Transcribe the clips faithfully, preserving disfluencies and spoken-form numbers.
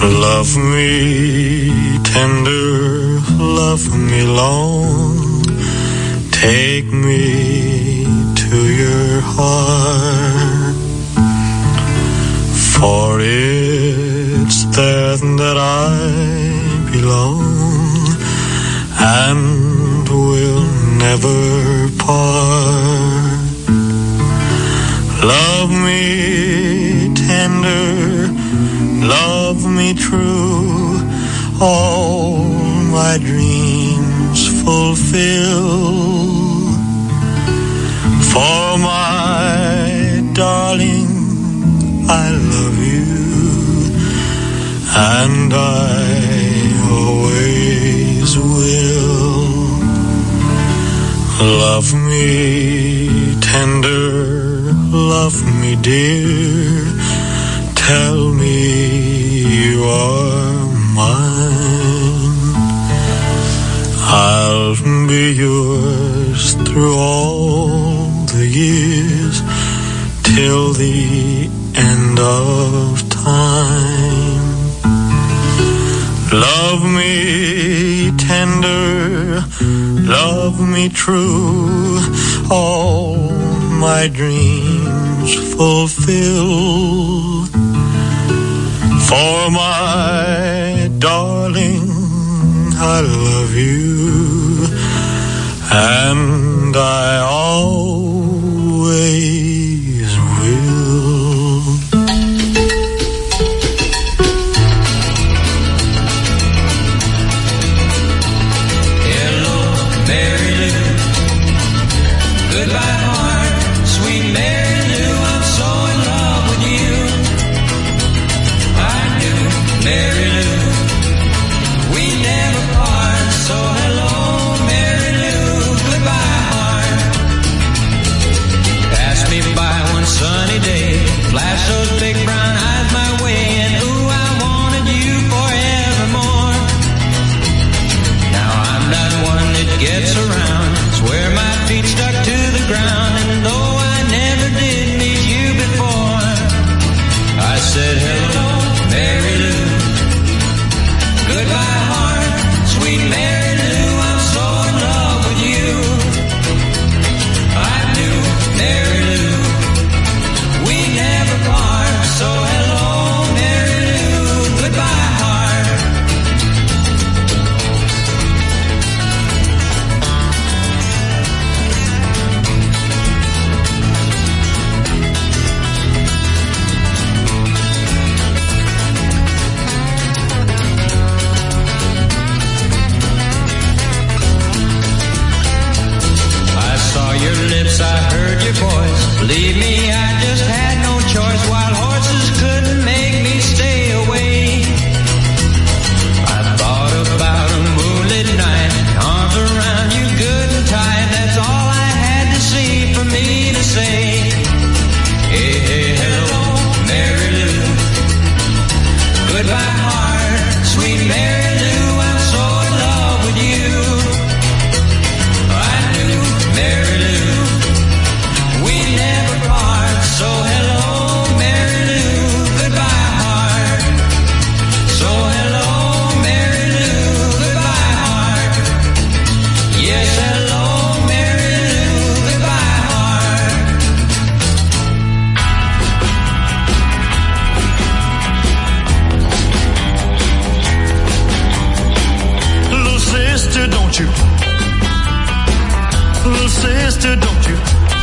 Love me tender, love me long, take me to your heart, for it's there that I belong and will never part. Love me tender, love me true, all my dreams fulfill. For my darling, I love you, and I always will. Love me tender, love me dear, tell me you are mine. I'll be yours through all the years, till the end of time. Love me tender, love me true, all my dreams fulfill. For my darling, I love you, and I always will. Hello, Mary Lou. Goodbye, heart, sweet Mary Lou. I'm so in love with you. I do, Mary Lou. We never part, so hello, Mary Lou. Goodbye, heart. Pass me by one sunny day, flash those big brown eyes my way, and ooh, I wanted you forevermore. Now I'm not one that gets around, swear my feet stuck to the ground, and though I never did meet you before, I said hello, Mary Lou. Goodbye, heart, sweet Mary Lou. I'm so in love with you. I do, Mary Lou. We never part, so hello, Mary Lou. Goodbye, heart. I saw your lips, I heard your voice. Believe me, I just had no choice. Wild horses couldn't make me stay away. I thought about a moonlit night, arms around you good and tight. That's all I had to see for me to say. Hey, hey, hello, Mary Lou. Goodbye, heart, sweet Mary Lou. I'm so in love with you. I do, Mary Lou. We never part, so hello, Mary Lou. Goodbye, heart. So hello, Mary Lou. Goodbye, heart. Yes, hello, Mary Lou. Goodbye, heart. Little sister, don't you? Little sister, don't you?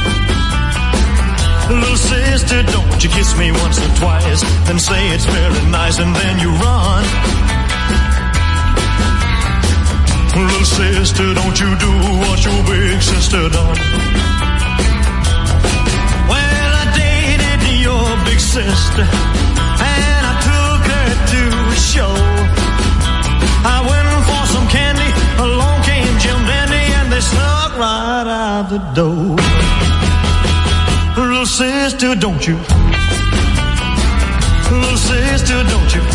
Little sister, don't you kiss me once or twice, then say it's very nice, and then you run. Little sister, don't you do what your big sister done. Well, I dated your big sister, and I took her to a show. I went for some candy, along came Jim Dandy, and they snuck right out the door. Little sister, don't you? Little sister, don't you?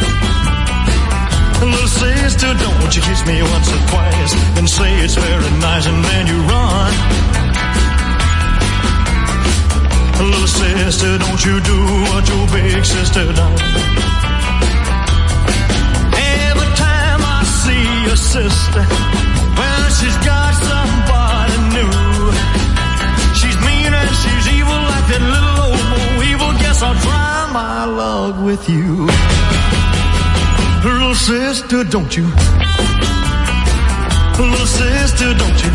Little sister, don't you kiss me once or twice, and say it's very nice, and then you run. Little sister, don't you do what your big sister done. her sister. Well, she's got somebody new. She's mean and she's evil like that little old Bo Evil. Guess I'll try my luck with you. Little sister, don't you? Little sister, don't you?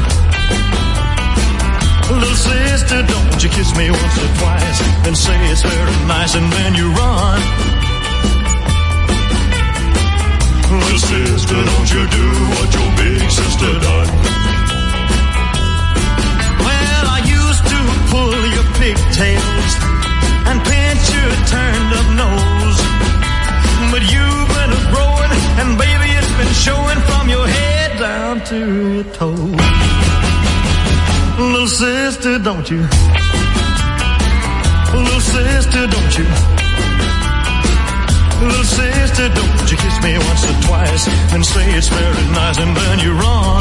Little sister, don't you kiss me once or twice and say it's very nice and then you run. Little sister, don't you do what your big sister done. Well, I used to pull your pigtails and pinch your turned up nose, but you've been growing and baby it's been showing from your head down to your toes. Little sister, don't you? Little sister, don't you? Little sister, don't you kiss me once or twice and say it's very nice and then you run.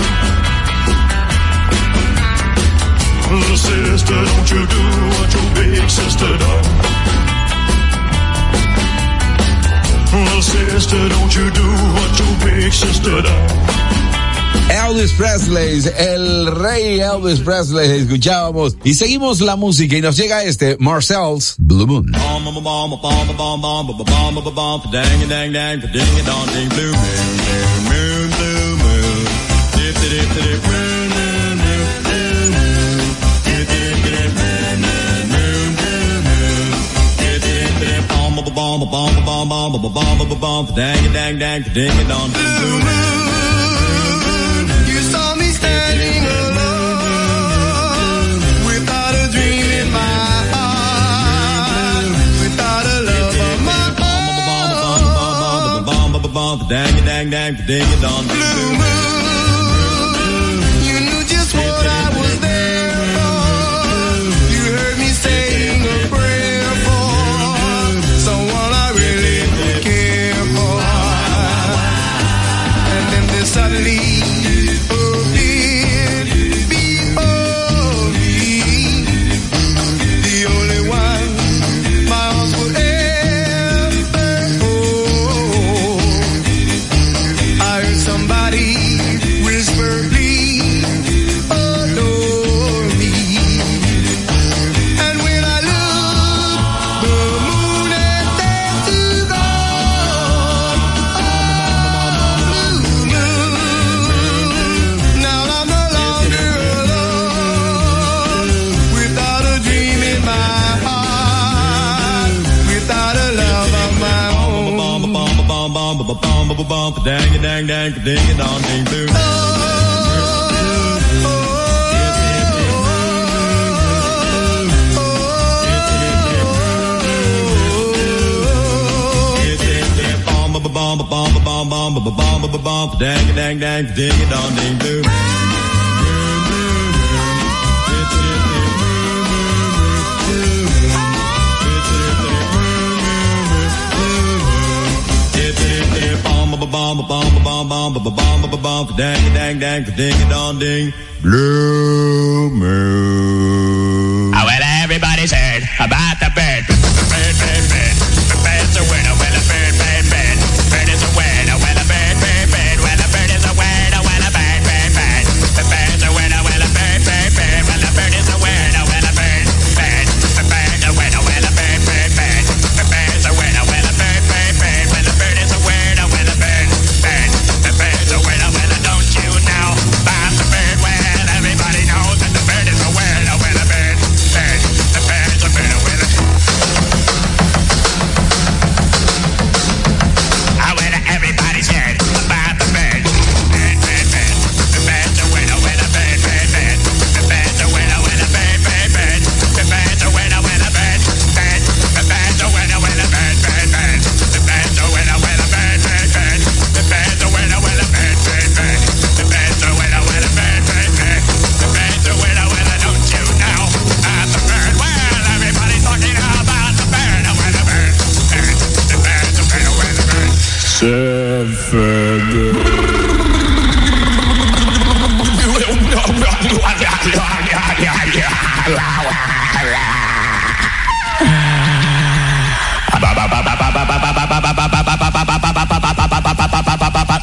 Little sister, don't you do what your big sister done. Little sister, don't you do what your big sister done. Elvis Presley, el rey Elvis Presley, escuchábamos y seguimos la música y nos llega este Marcel's Blue Moon. Standing alone, without a dream in my heart, without a love of my own. Blue moon, you knew just what I was there for. You heard me saying a prayer for someone I really care for. And then there's suddenly dang dang dang ding a dong ding blue. Bomb bomb bomb bomb bomb bomb bomb dang dang dang ding a dong ding blue. Bomb bomb bomb bomb bomb bomb bomb dang dang dang ding a dong ding blue moon. Oh, well, everybody's heard about the bird. Bird, bird, bird. The bird's a winner. Well, a bird, bird, bird. Bird is a winner. Well, a bird, bird, bird. Well, a bird is a winner. Well, a bird, bird, bird. The bird's a winner. Well, a bird, bird, bird. Well, a bird is a winner. Well, a bird, bird. The bird's a winner. Well, a bird, bird, bird. The bird's a winner. Well, a bird, bird, bird. Well, a bird is a winner. Well, a bird, bird. The bird's a winner. Well, don't you know about the bird? Well, everybody knows that the bird is a winner. Well, a bird, bird. The bird's a winner. Well, everybody's heard about the bird. Bird, bird, bird. The bird's a winner. Well, a bird, bird, bird. The bird's a winner. Well, a bird, bird, bird. The bird's a winner. Well, a bird, bird. The bird's a winner. Well, a bird, bird, bird. The bird's a winner. Well, a bird, bird, bird. The bird's a winner. Well, a bird, bird, bird. The bird's a winner. Well, a bird, bird, bird. The bird's a winner. Well, don't you know about the bird? Well, everybody's talking about the bird. Well, a bird, bird. The bird's a winner. Well, a bird. Seven.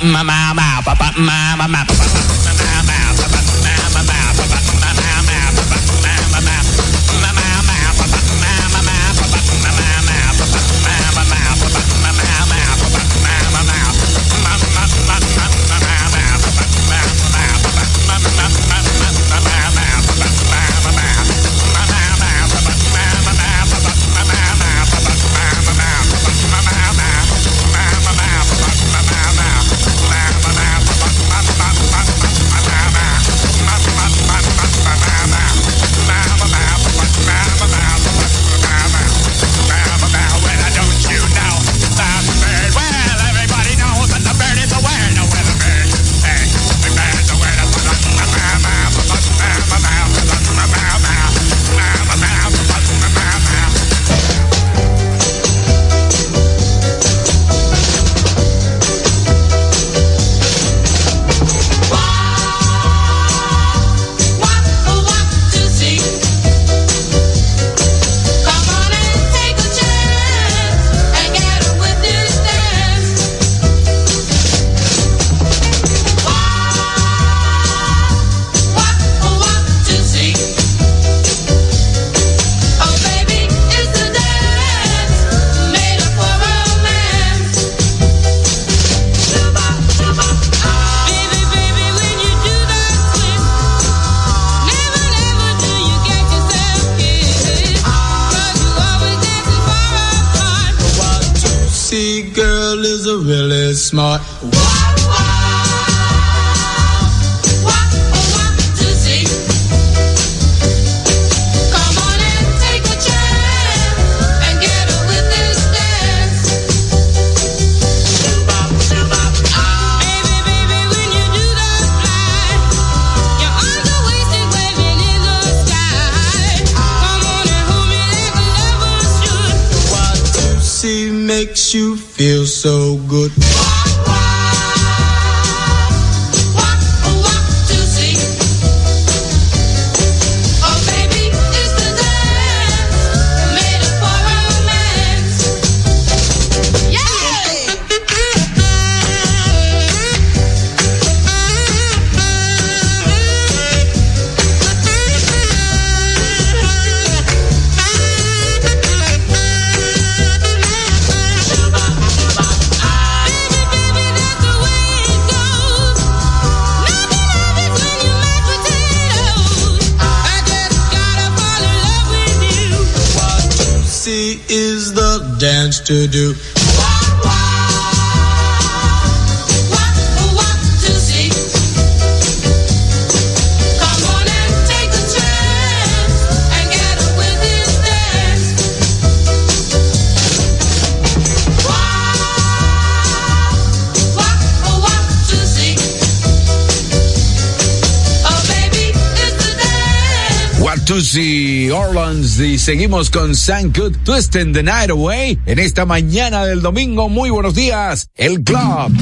Smart. Makes you feel so good. Dance to do. Tusi Orleans y seguimos con Sam Cooke, Twisting the Night Away en esta mañana del domingo. Muy buenos días, el club.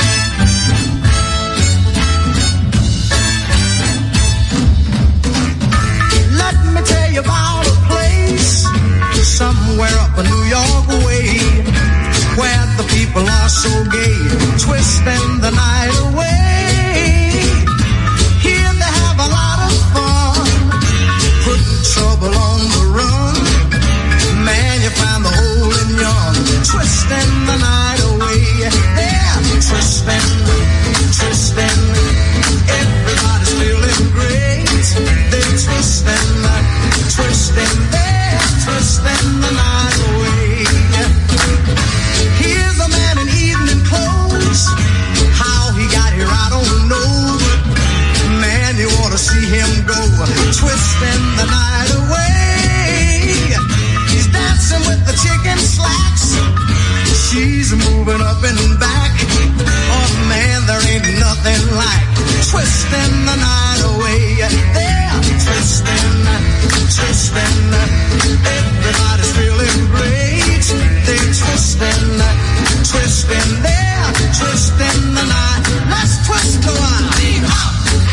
Let me tell you about a place somewhere up in New York way where the people are so gay, twisting the night away. Here they have a lot of fun, putting trouble on the run. Man, you find the old and young, twisting the night away. Yeah, twisting, twisting. Everybody's feeling great. They're twisting, twisting. They're twisting the night away. Here's a man in evening clothes. How he got here, I don't know. But man, you ought to see him go, twisting the night away. He's dancing with the chicken slacks. She's moving up and back. Oh man, there ain't nothing like twisting the night away. They're twisting, twisting. Everybody's feeling great. They're twisting, twisting. They're twisting the night. Let's twist a while. Lean up.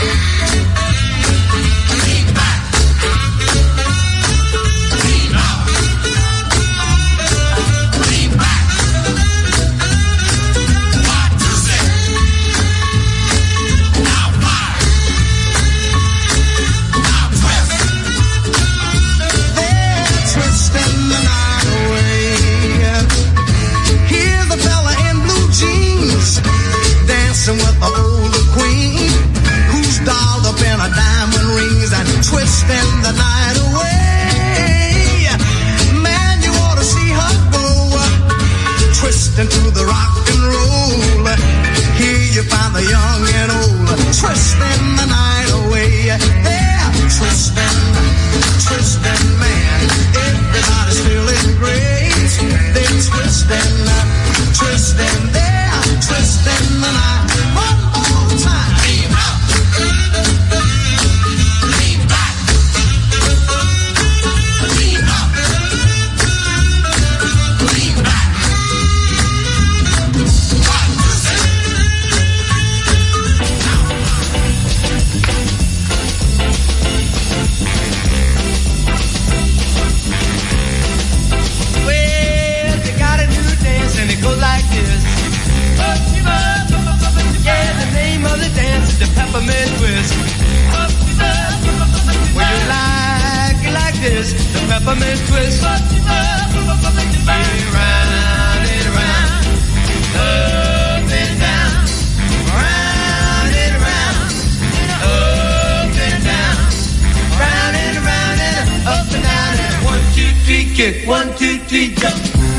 Lean back. Lean up. Lean back. One, two, six. twisting, they're twisting the night. One more time. Leave out. Leave back. Leave out. Leave back. One, two, three. Well, they got a new dance and it goes like this. Yeah, the name of the dance is the peppermint twist. When you like it like this, the peppermint twist. Round and round, up and down, round and round, up and down, round and round and up and down and one, two, three, kick, one, two, three, jump.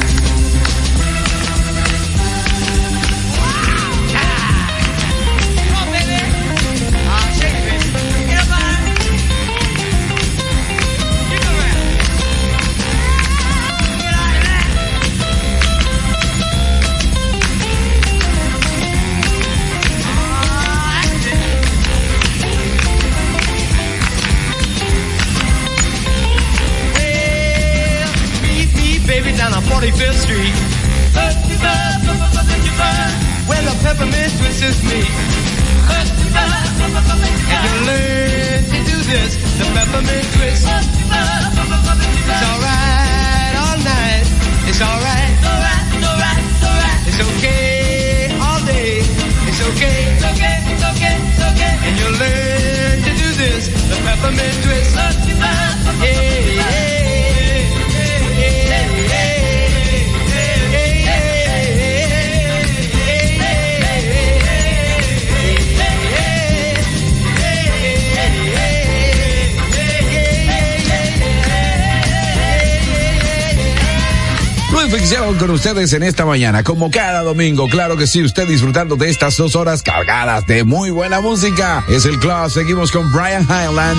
Down on forty-fifth Street, where the peppermint twist is me. And you learn to do this, the peppermint twist. It's alright all night. It's alright. It's okay all day. It's okay. And you learn to do this, the peppermint twist. Yeah, yeah. Ficción con ustedes en esta mañana, como cada domingo, claro que sí, usted disfrutando de estas dos horas cargadas de muy buena música. Es el club, seguimos con Brian Hyland.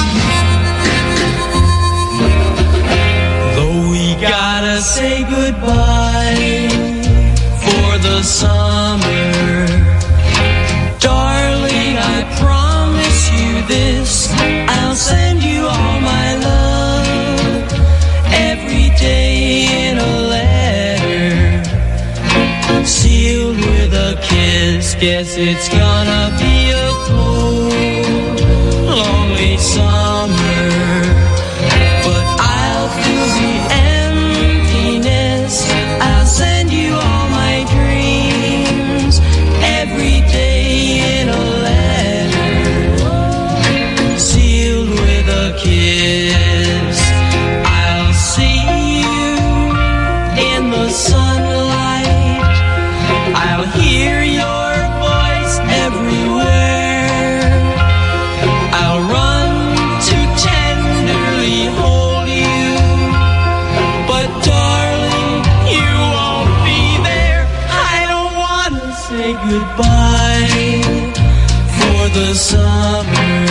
Though we gotta say goodbye for the summer, darling, I promise you this, I'll send you all my love every day in a letter, sealed with a kiss. Guess it's gonna be a cold, lonely summer, but I'll fill the emptiness. I'll send you all my dreams every day in a letter, sealed with a kiss. I'll see you in the sunlight, I'll hear your voice everywhere, I'll run to tenderly hold you, but darling, you won't be there. I don't wanna say goodbye for the summer,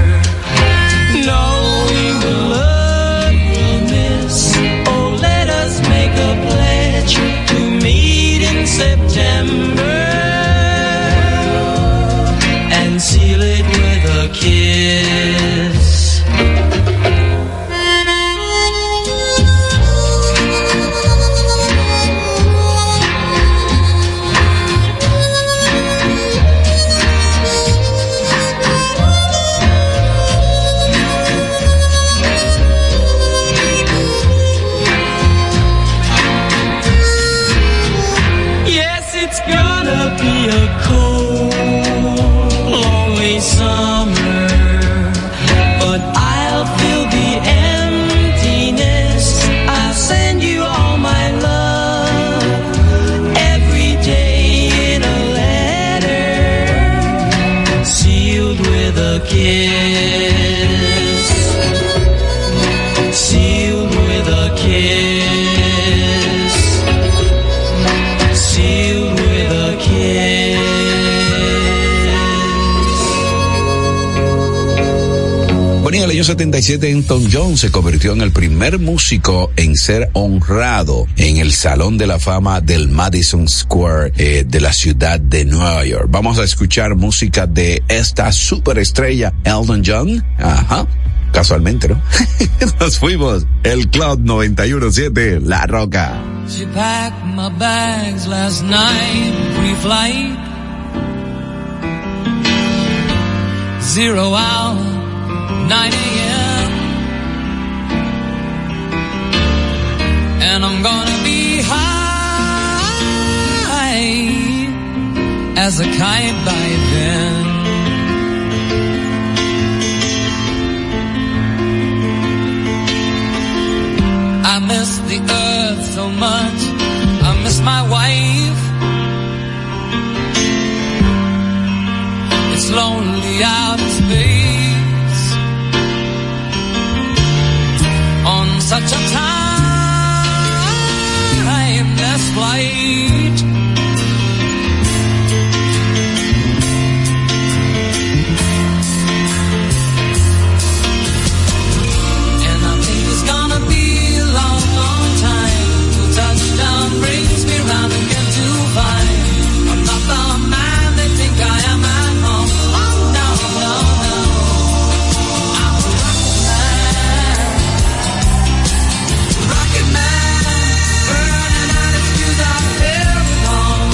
knowing the love we'll miss. Oh, let us make a pledge to meet in September and seal it with a kiss. Yes, it's gonna be a cold, lonely summer, but I'll fill the emptiness. I'll send you all my love every day in a letter, sealed with a kiss, sealed with a kiss, sealed with a kiss. Bueno, yo setenta y siete, Elton John se convirtió en el primer músico en ser honrado en el Salón de la Fama del Madison Square eh, de la ciudad de Nueva York. Vamos a escuchar música de esta superestrella Elton John. Ajá. Casualmente, ¿no? Nos fuimos. El Club noventa y uno punto siete, La Roca. She packed my bags last night, pre-flight. Zero hour, nine a.m. And I'm gonna be high as a kite by then. I miss the earth so much, I miss my wife. It's lonely out in space on such a timeless flight. And I think it's gonna be a long, long time till touchdown brings me round again to find I'm not the man they think I am at home. Oh no, no, no, I'm a rocket man, rocket man, burning out its fuse out there alone.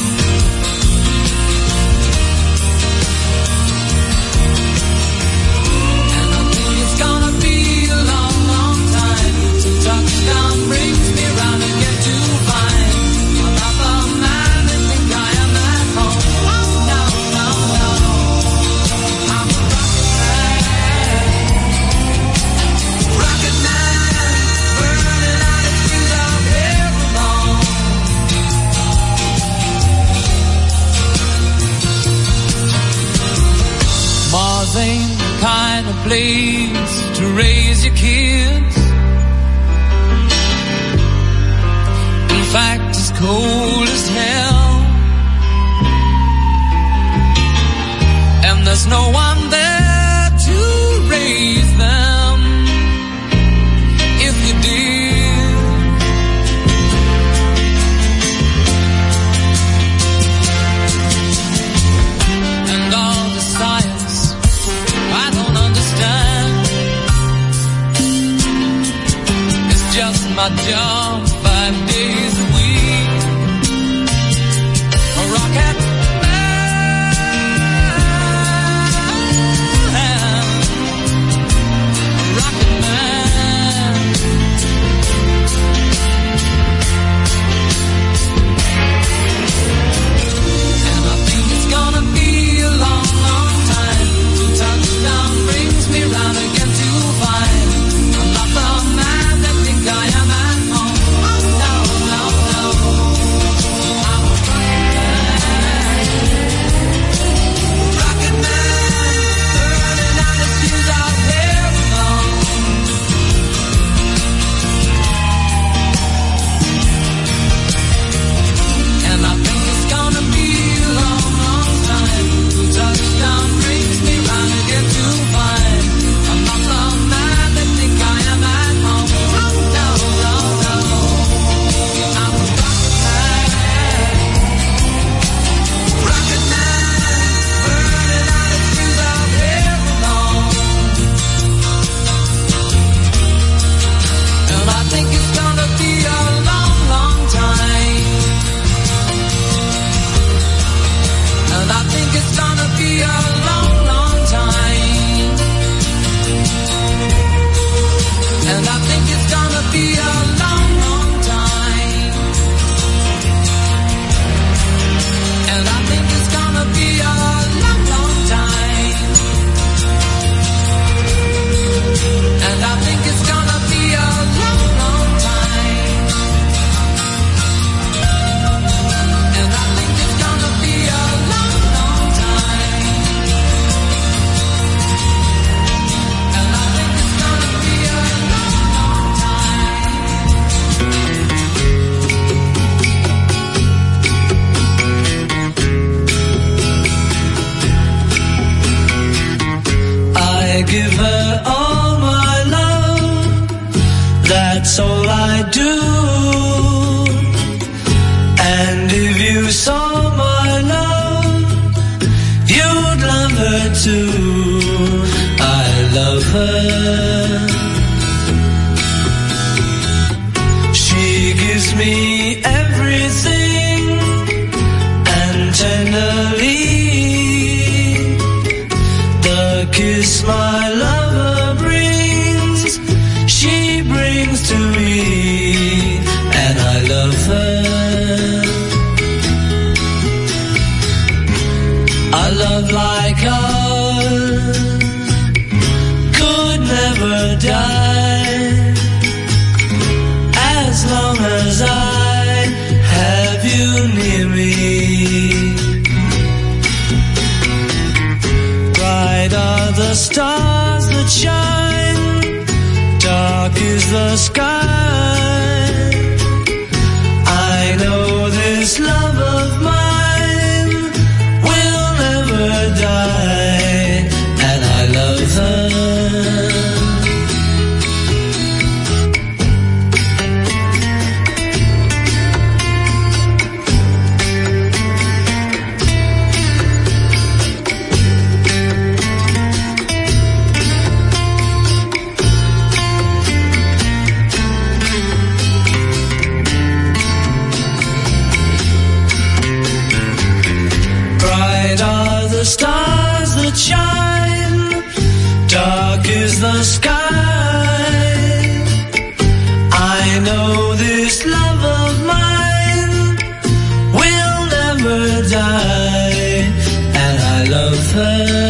And I think it's gonna be a long, long time till touchdown brings me round again to find I'm not the man they think I am at home. Oh no, no, no, I'm a rocket man, rocket man, burning out its fuse out there alone. Mars ain't the kind of place to raise your kids. In fact, it's cold as hell. And there's no one there to raise them. If you did, and all the science I don't understand. It's just my job five days a week. A rocket man, a rocket man. And I think it's gonna be a long, long time till touchdown brings me round again to find I'm not the man that think I am at home. Oh no, no, no, I'm a rocket man. all I do. And if you saw my love, you'd love her too. I love her. She gives me everything, and tenderly the kiss my lover brings, she brings to me, and I love her. A love like ours could never die, as long as I have you near me. Bright are the stars that shine, dark is the sky. I know this love of mine will never die, and I love her. The stars that shine, dark is the sky. I know this love of mine will never die, and I love her.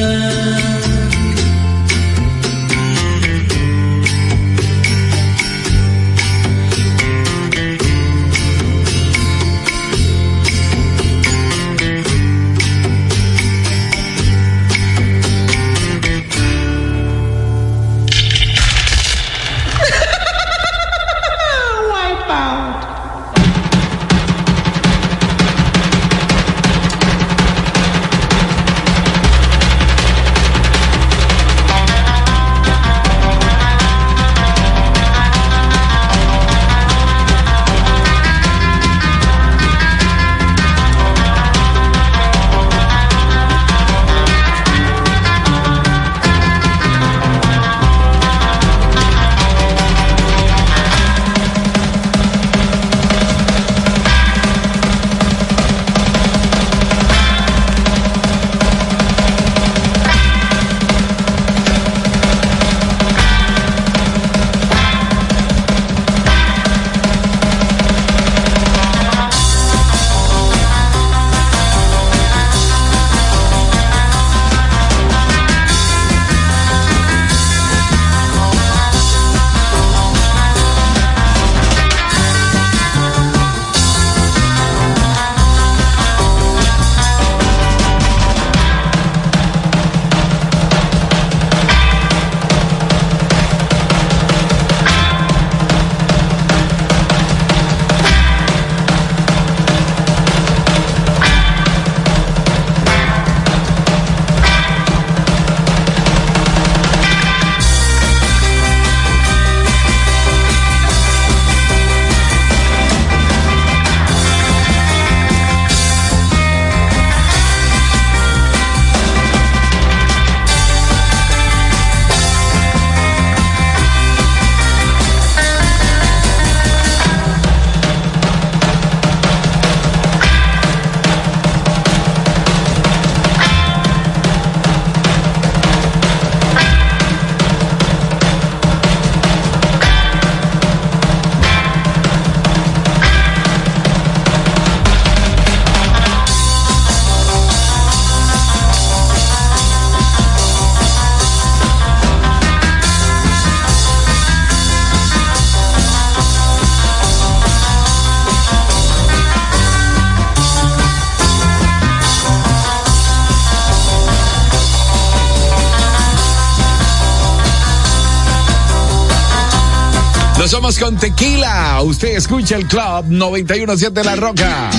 Nos vamos con Tequila. Usted escucha el Club noventa y uno punto siete La Roca.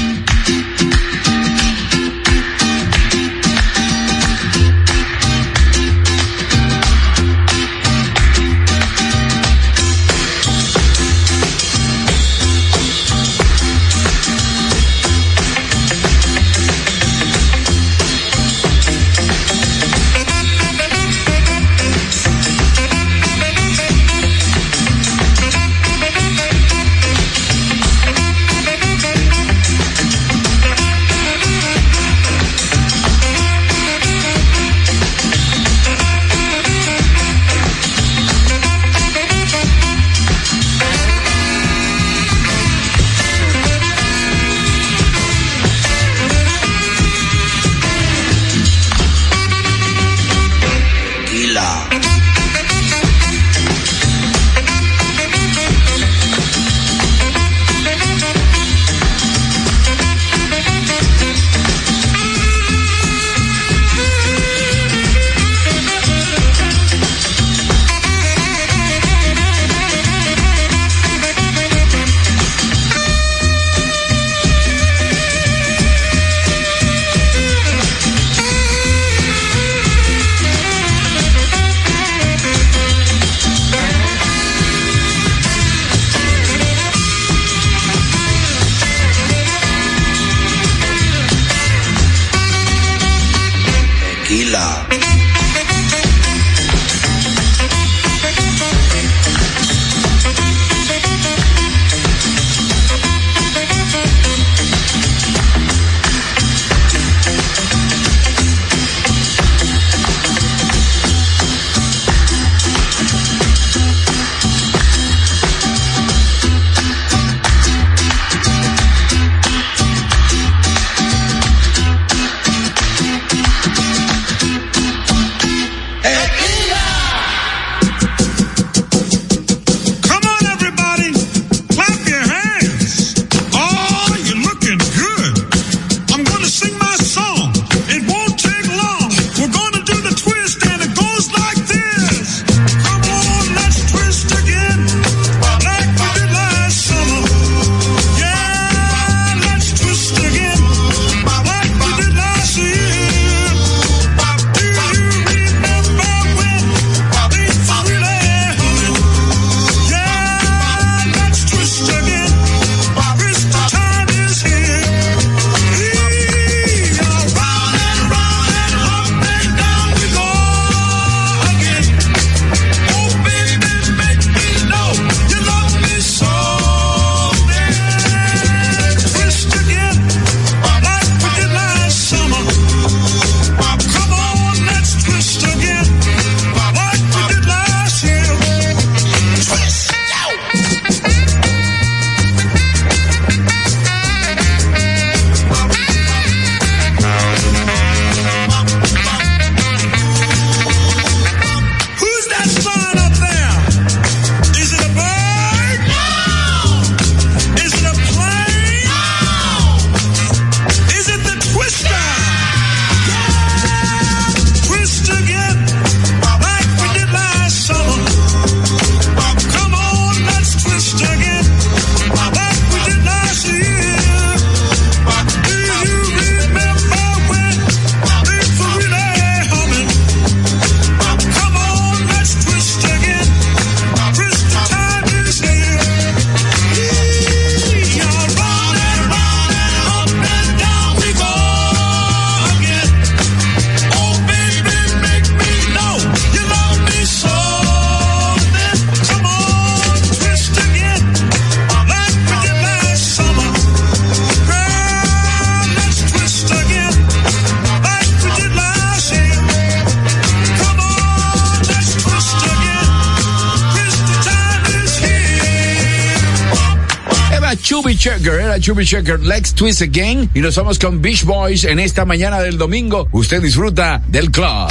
Era Chubby Checker, era Chubby Checker. Let's twist again. Y nos vamos con Beach Boys en esta mañana del domingo. Usted disfruta del club.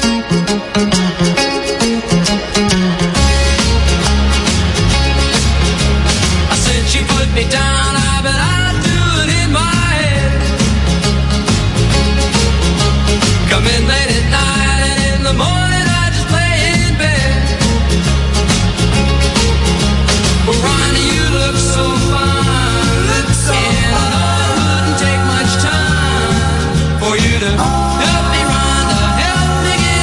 I said she put me down, I bet I'd do it in my head. Come in late at night and in the morning I just lay in bed. Well, Ronnie, you look so fine, look so and I know it wouldn't take much time for you to help me, Rhonda, help me get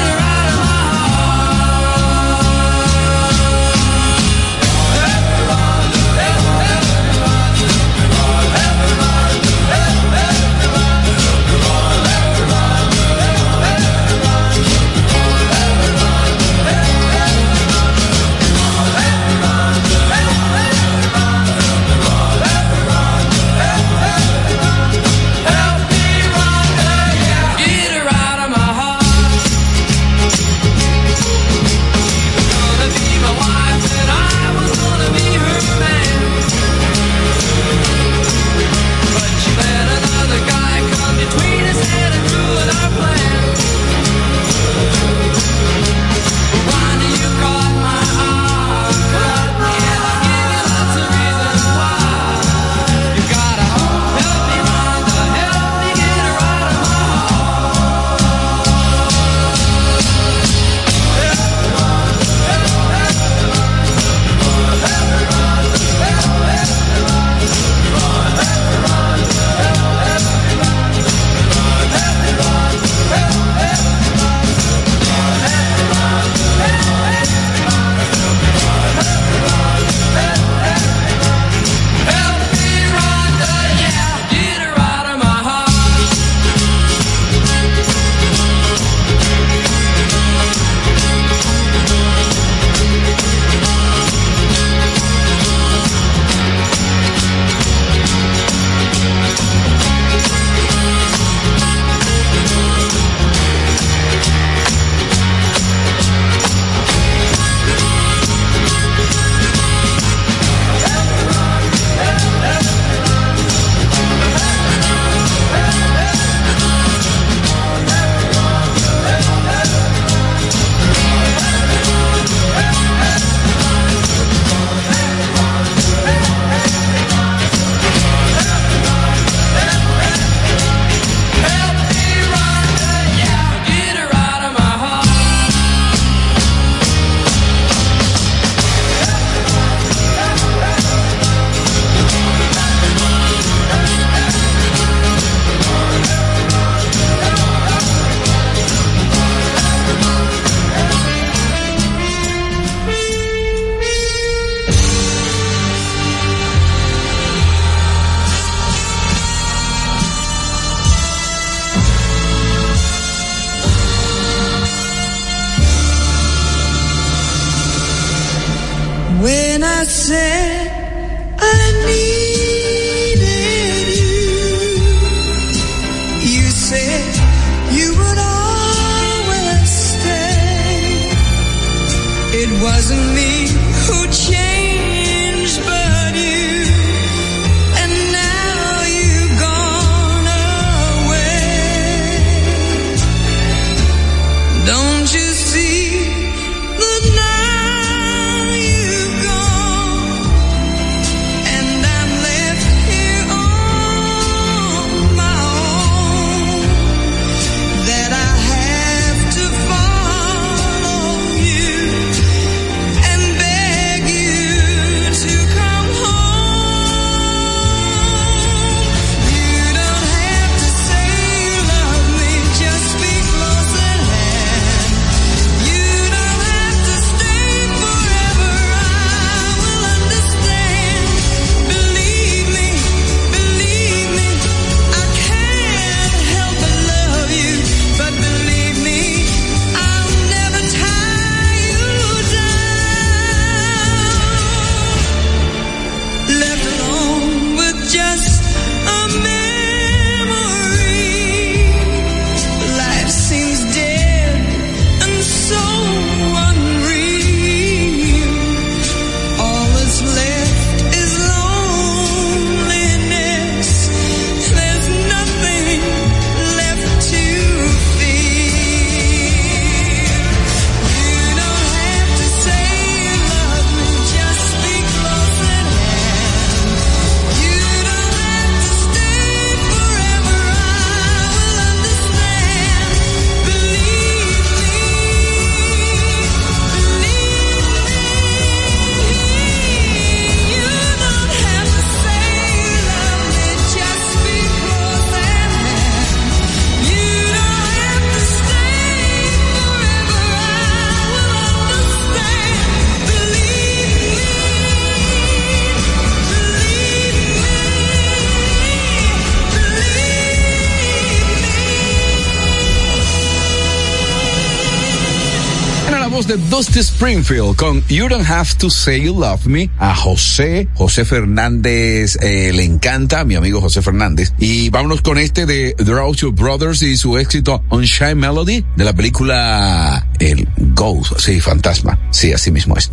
Escuchamos de Dusty Springfield con You Don't Have to Say You Love Me. A José, José Fernández eh, le encanta, mi amigo José Fernández. Y vámonos con este de The Roucho Brothers y su éxito Unchained Melody de la película El Ghost, sí, Fantasma. Sí, así mismo es.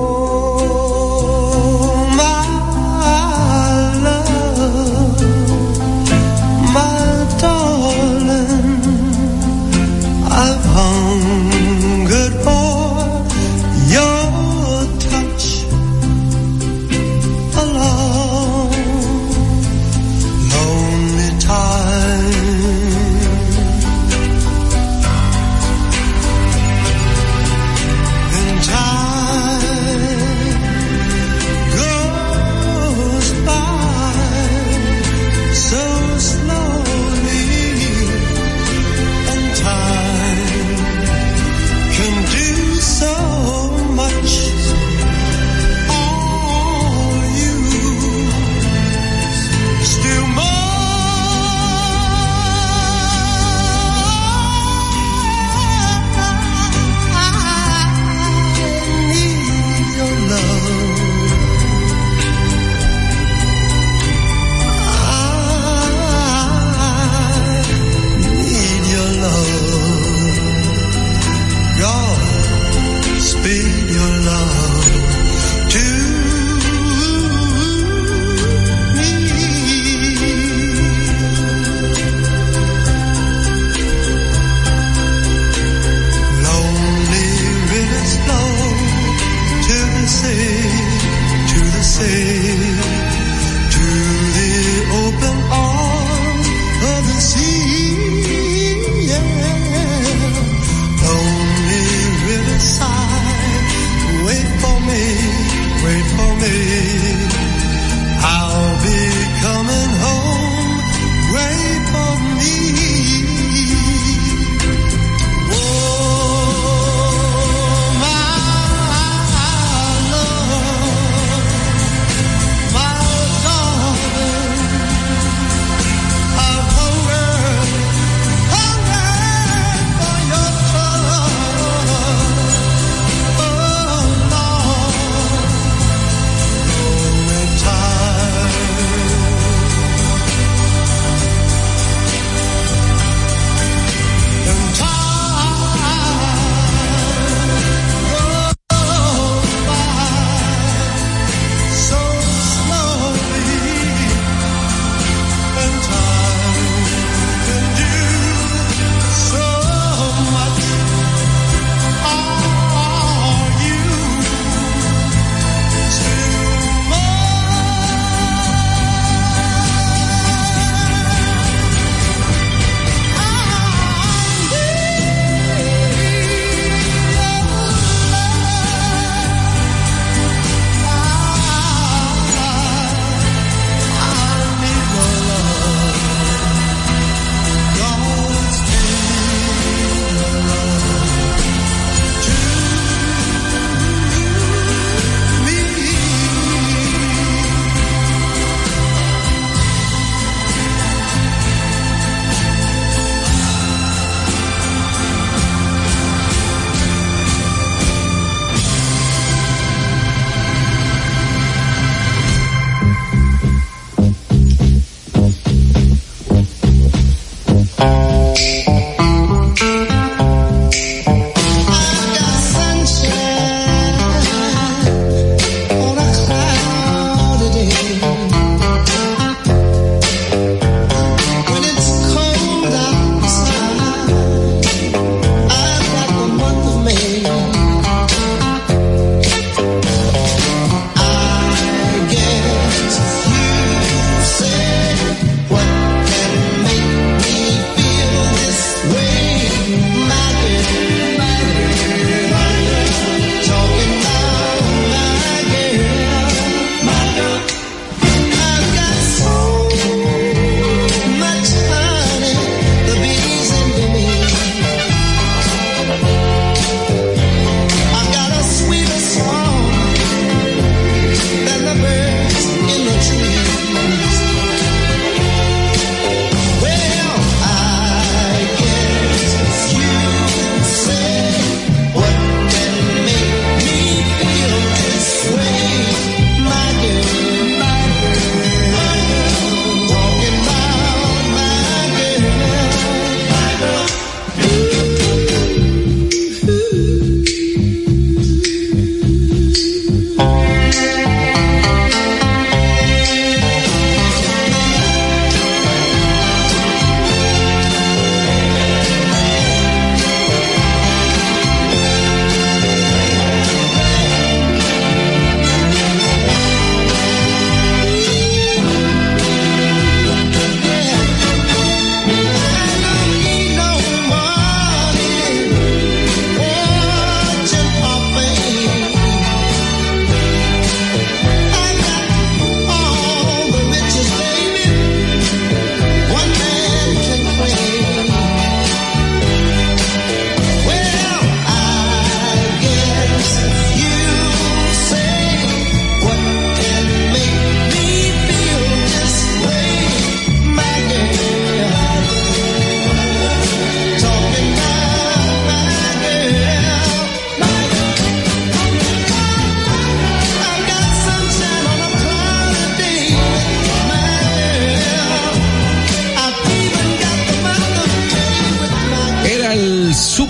Oh, my love, my darling, I've hungered for your touch a long, lonely time. In time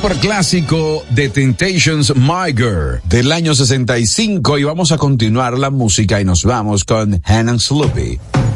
super clásico de Temptations, My Girl, del año sesenta y cinco, y vamos a continuar la música y nos vamos con Hannah Sloopy.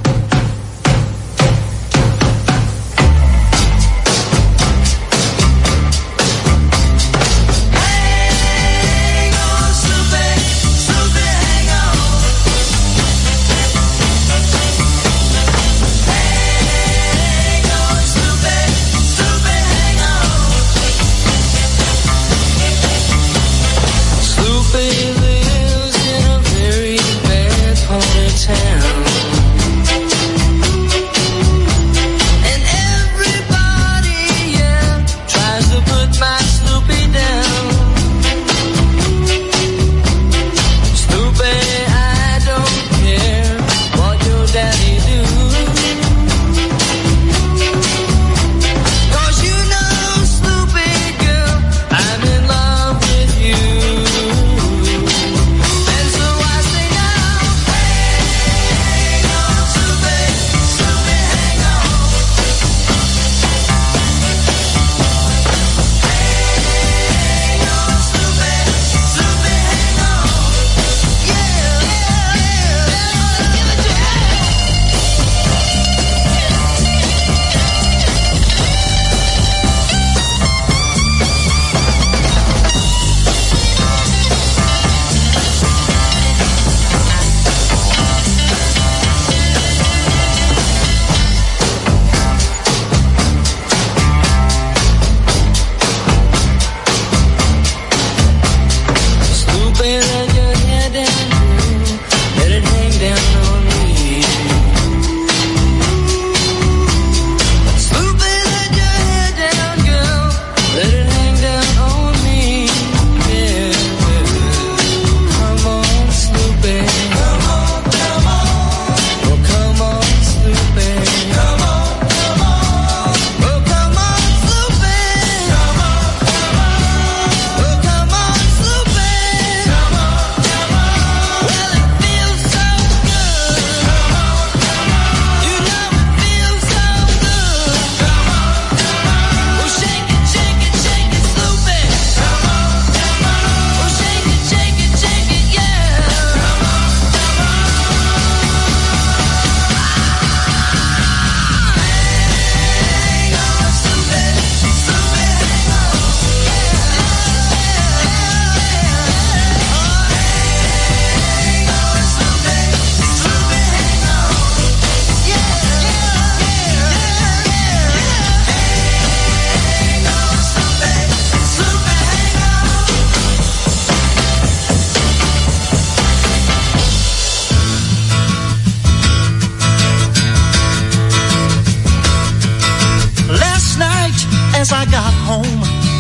as I got home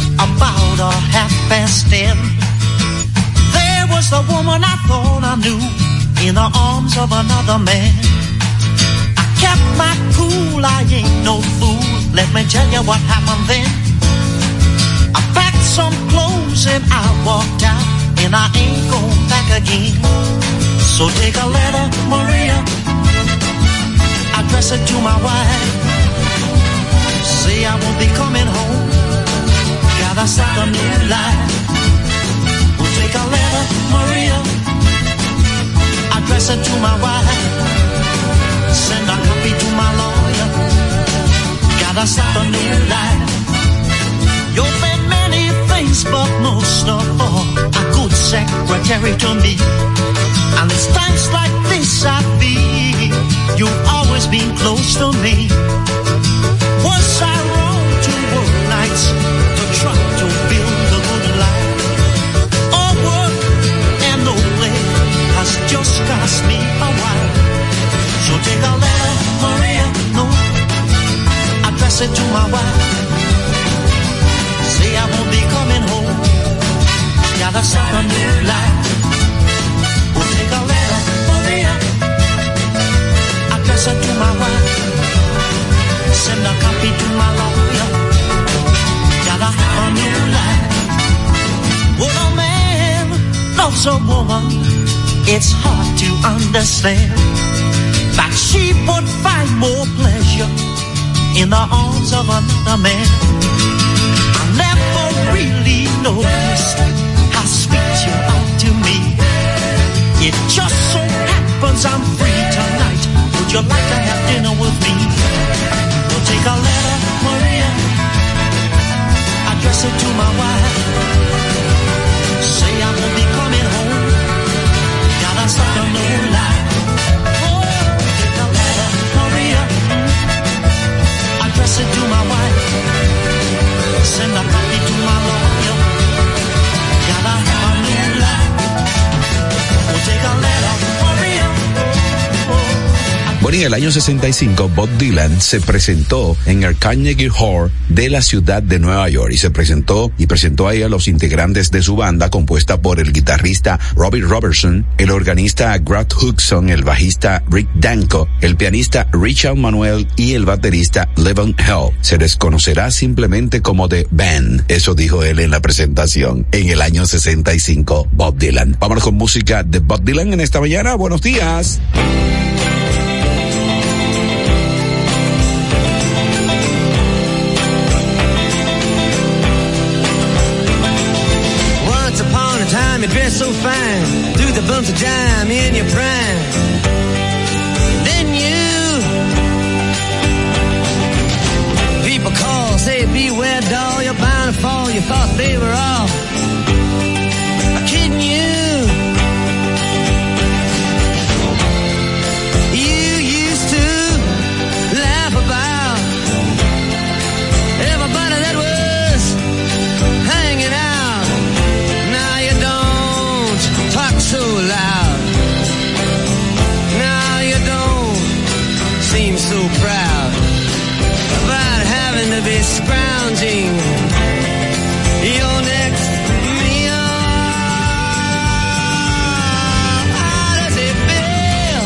about a half past ten. There was the woman I thought I knew in the arms of another man. I kept my cool, I ain't no fool. Let me tell you what happened then. I packed some clothes and I walked out, and I ain't going back again. So take a letter, Maria, address it to my wife. Say I won't be coming home, gotta start a new life. We'll take a letter, Maria, address it to my wife. Send a copy to my lawyer, gotta start a new life. You've been many things, but most of all, a good secretary to me. And it's times like this I feel you've always been close to me. Was I wrong to work nights to try to build a good life? All work and no play has just cost me a while. So take a letter, Maria, no, address it to my wife. Say I won't be coming home, gotta start a new life. We'll take a letter, Maria, address it to my wife. Send a copy to my lawyer, gotta have a new life. When a man loves a woman, it's hard to understand that she would find more pleasure in the arms of another man. I never noticed how sweet you are to me. It just so happens I'm free tonight. Would you like to have dinner with me? We'll take a letter, Maria, address it to my wife. Say I won't be coming home. Gotta start a new life. Oh, take a letter, Maria, address it to my wife. Send a copy to my lawyer. Gotta have a new life. We'll take a letter, Maria. Bueno, y en el año sesenta y cinco, Bob Dylan se presentó en el Carnegie Hall de la ciudad de Nueva York y se presentó y presentó ahí a los integrantes de su banda compuesta por el guitarrista Robbie Robertson, el organista Grant Hudson, el bajista Rick Danko, el pianista Richard Manuel y el baterista Levon Helm. Se les conocerá simplemente como The Band. Eso dijo él en la presentación en el año sesenta y cinco, Bob Dylan. Vámonos con música de Bob Dylan en esta mañana. Buenos días. You dress so fine, through the bumps of dime in your prime. Then you, people call, say beware doll, you're bound to fall. You thought they were all kidding you. You used to laugh about everybody that was hanging out. Now you don't talk so loud. Now you don't seem so proud about having to be scrounging your next meal. How does it feel?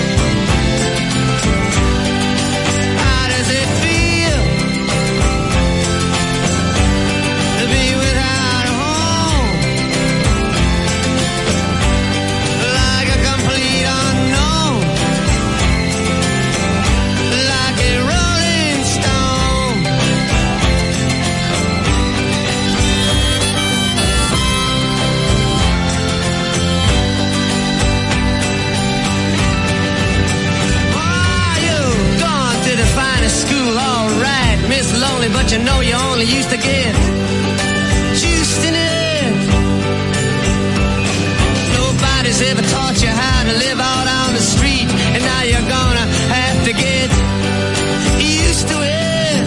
How does it feel to be without a home? Like a complete unknown, like a rolling stone. Why you gone to the finest school, all right, Miss Lonely, but you know you only used to get juiced in it. Nobody's ever taught you how to live out on the street, and now you're gonna have to get used to it.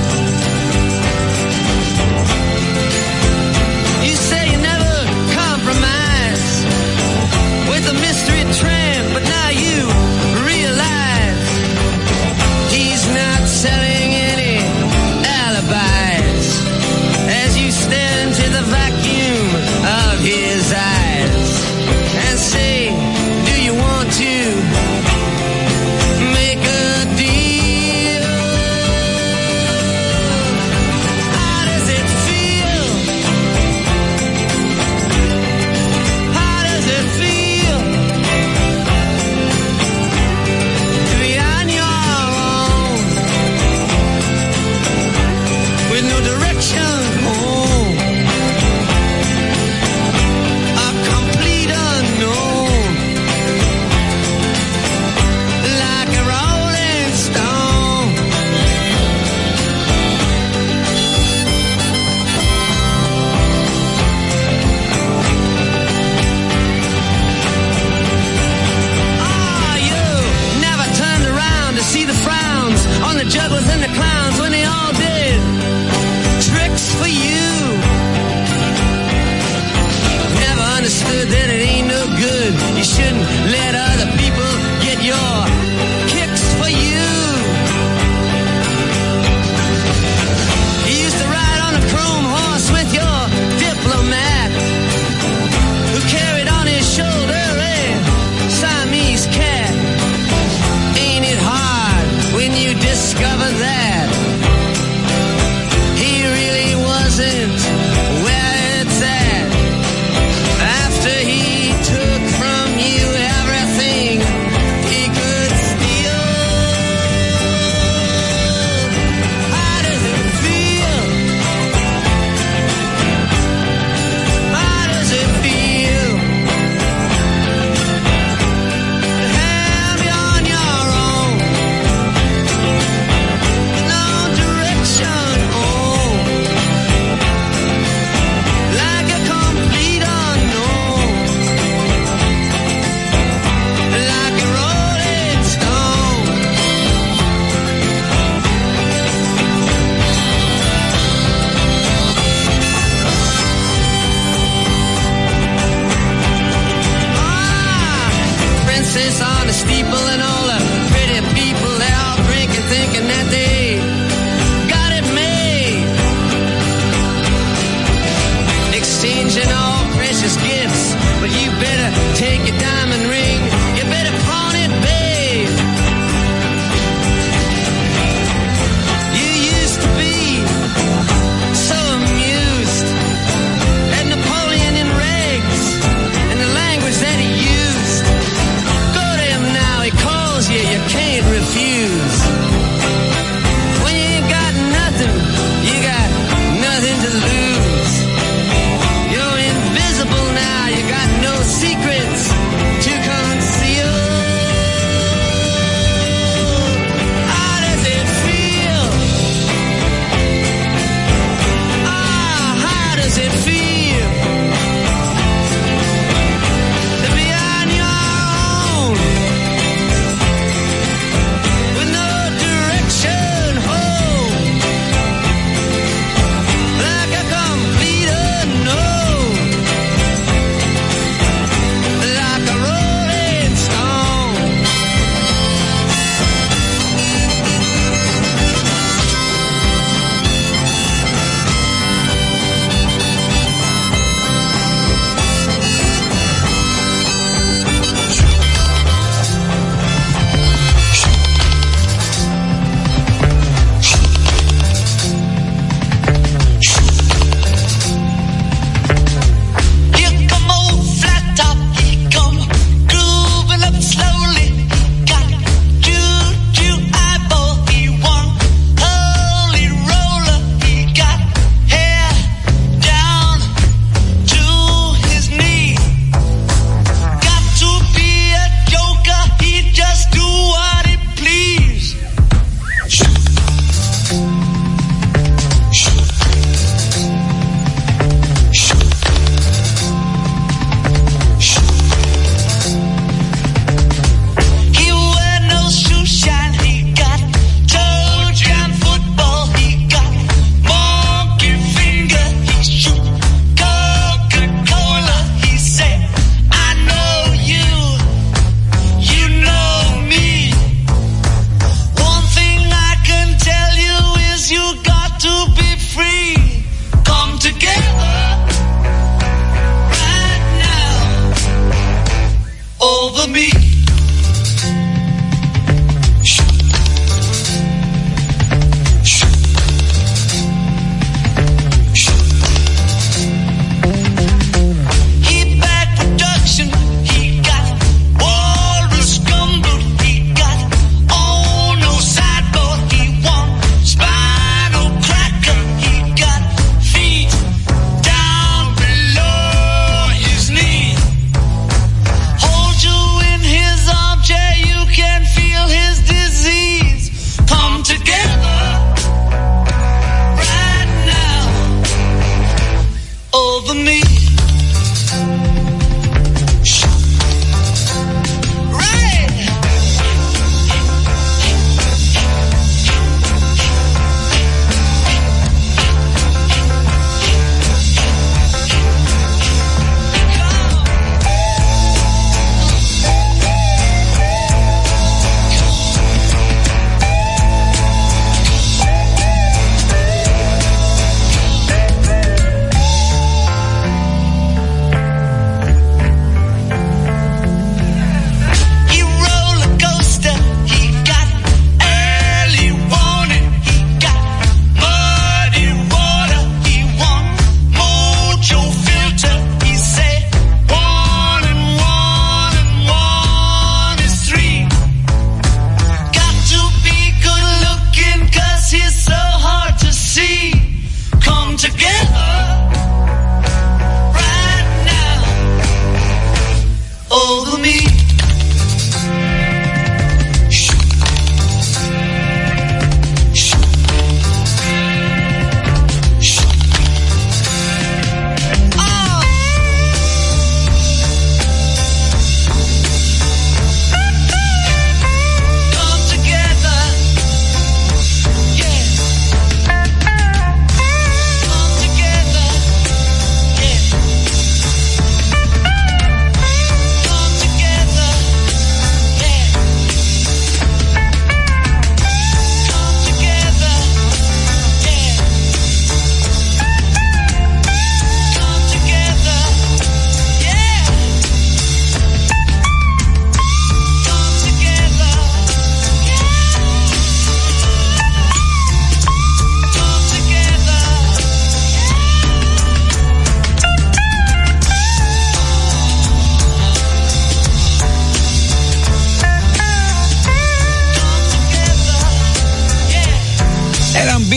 You say you never compromise with a mystery tramp, but now you realize he's not selling any alibis. can't refuse. When you ain't got nothing, you got nothing to lose. You're invisible now, you got no secrets to conceal. How does it feel? Ah, how does it feel to be on your own with no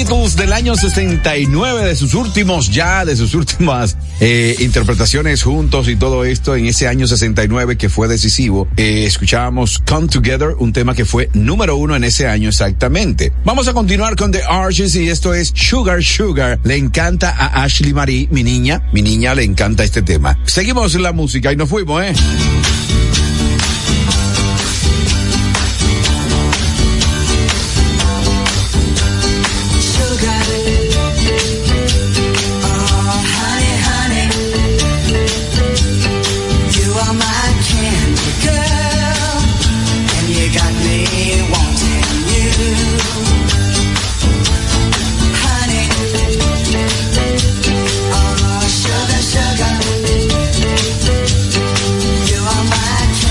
Beatles del año sesenta y nueve, de sus últimos ya, de sus últimas eh, interpretaciones juntos y todo esto en ese año sesenta y nueve que fue decisivo. Eh, escuchábamos Come Together, un tema que fue número uno en ese año exactamente. Vamos a continuar con The Archies y esto es Sugar Sugar. Le encanta a Ashley Marie, mi niña, mi niña le encanta este tema. Seguimos la música y nos fuimos, ¿eh? Sugar, sugar, you are my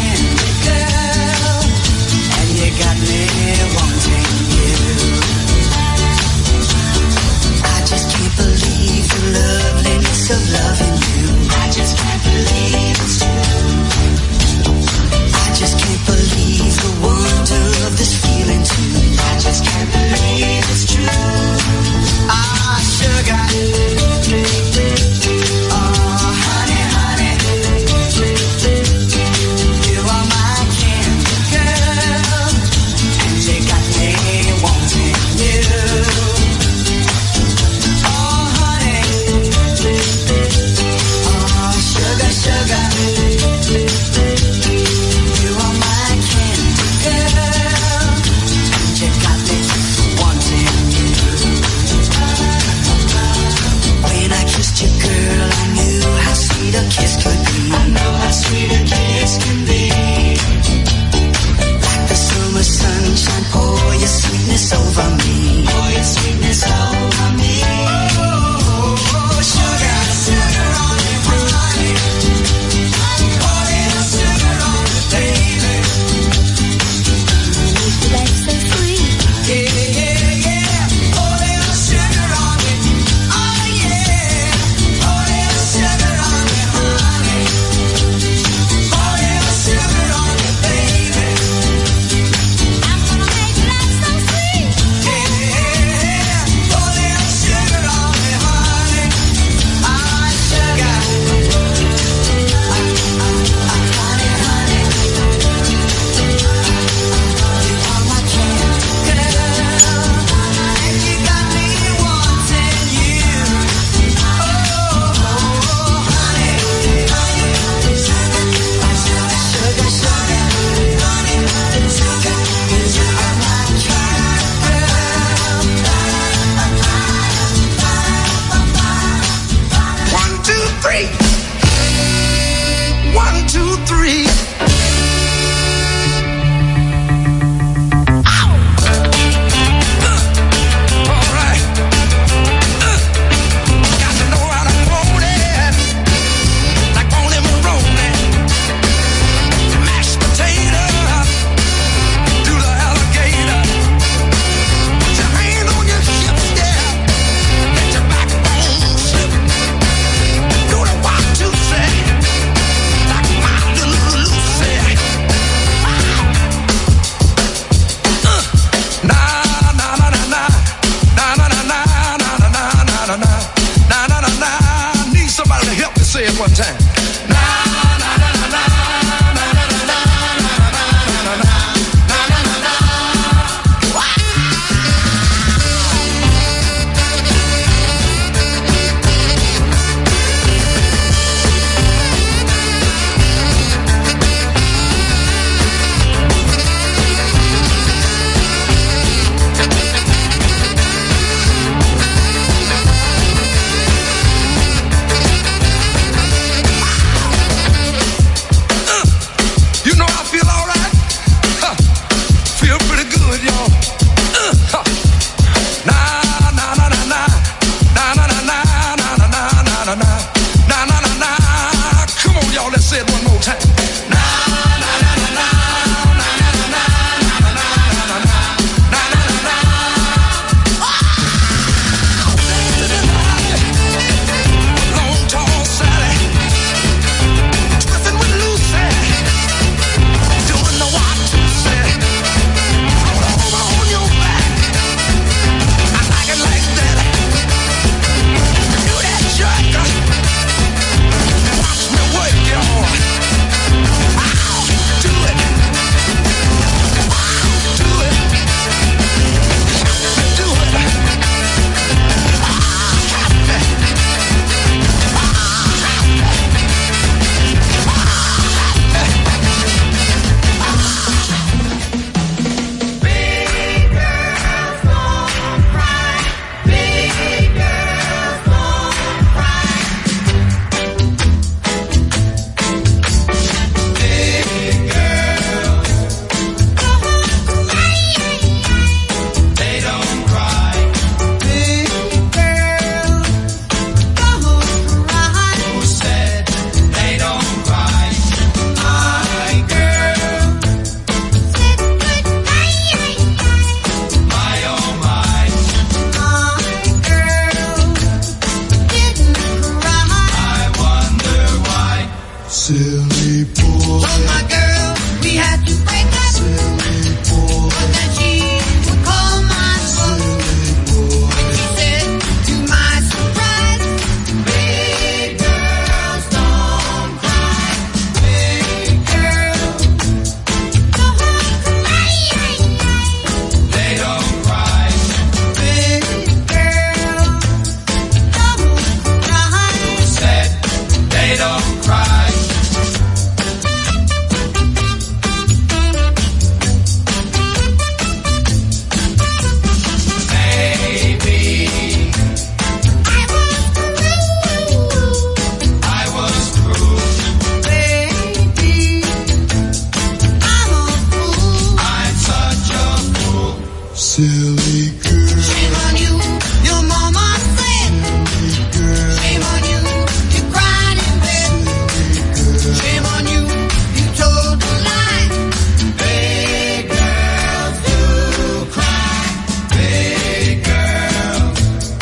Silly girl. Shame on you, your mama said. Shame on you, you cried in bed. Shame on you, you told a lie. Big girls do cry. Big girls.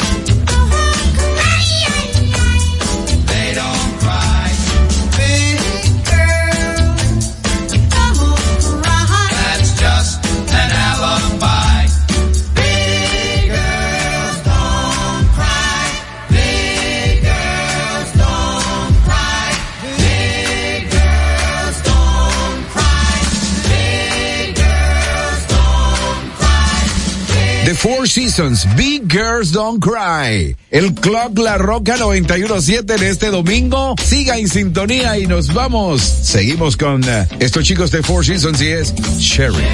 They don't cry. Big girls don't cry. That's just an alibi. The Four Seasons, Big Girls Don't Cry. El Club La Roca noventa y uno punto siete en este domingo. Siga en sintonía y nos vamos. Seguimos con uh, estos chicos de Four Seasons y es Sherry.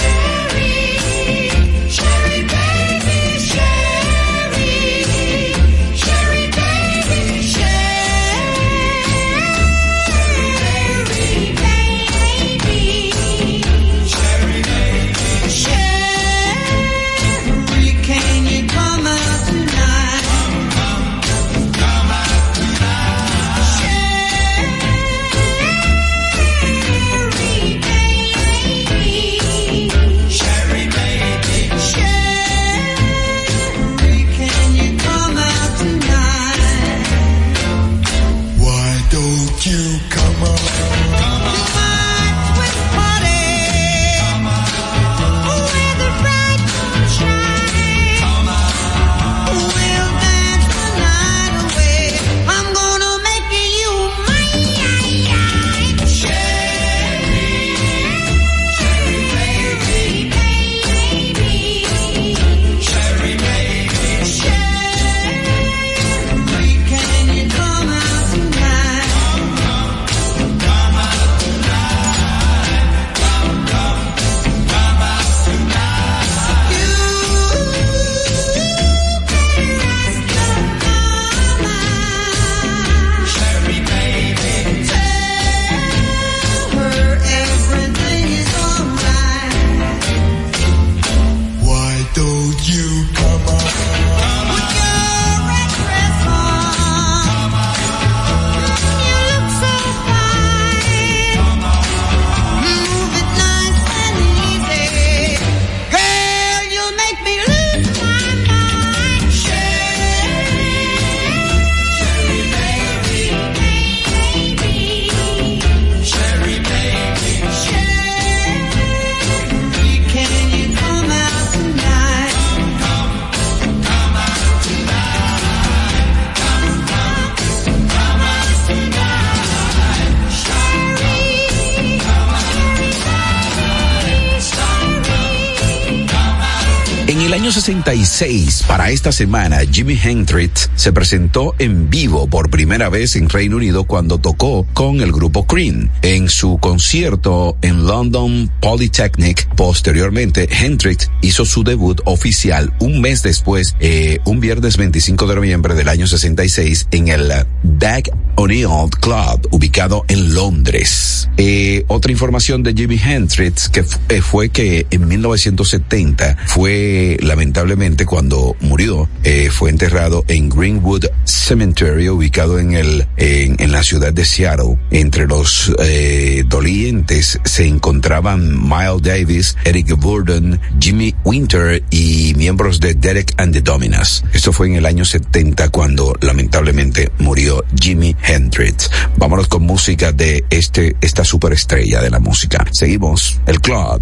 sesenta y seis, para esta semana, Jimi Hendrix se presentó en vivo por primera vez en Reino Unido cuando tocó con el grupo Cream en su concierto en London Polytechnic. Posteriormente, Hendrix hizo su debut oficial un mes después, eh, un viernes veinticinco de noviembre del año sesenta y seis, en el Dag O'Neill Club, ubicado en Londres. Eh, otra información de Jimi Hendrix que f- eh, fue que en mil novecientos setenta fue lamentablemente cuando murió, eh, fue enterrado en Greenwood Cemetery, ubicado en el en, en la ciudad de Seattle. Entre los eh, dolientes se encontraban Miles Davis, Eric Burdon, Jimmy Winter y miembros de Derek and the Dominos. Esto fue en el año setenta cuando lamentablemente murió Jimi Hendrix. Vámonos con música de este esta superestrella de la música. Seguimos el club.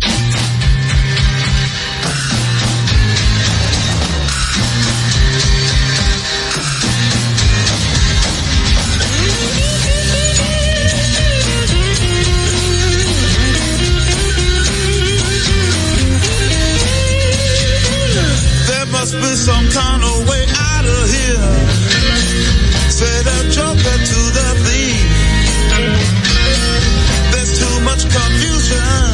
Must be some kind of way out of here. Say the joker to the thief. There's too much confusion.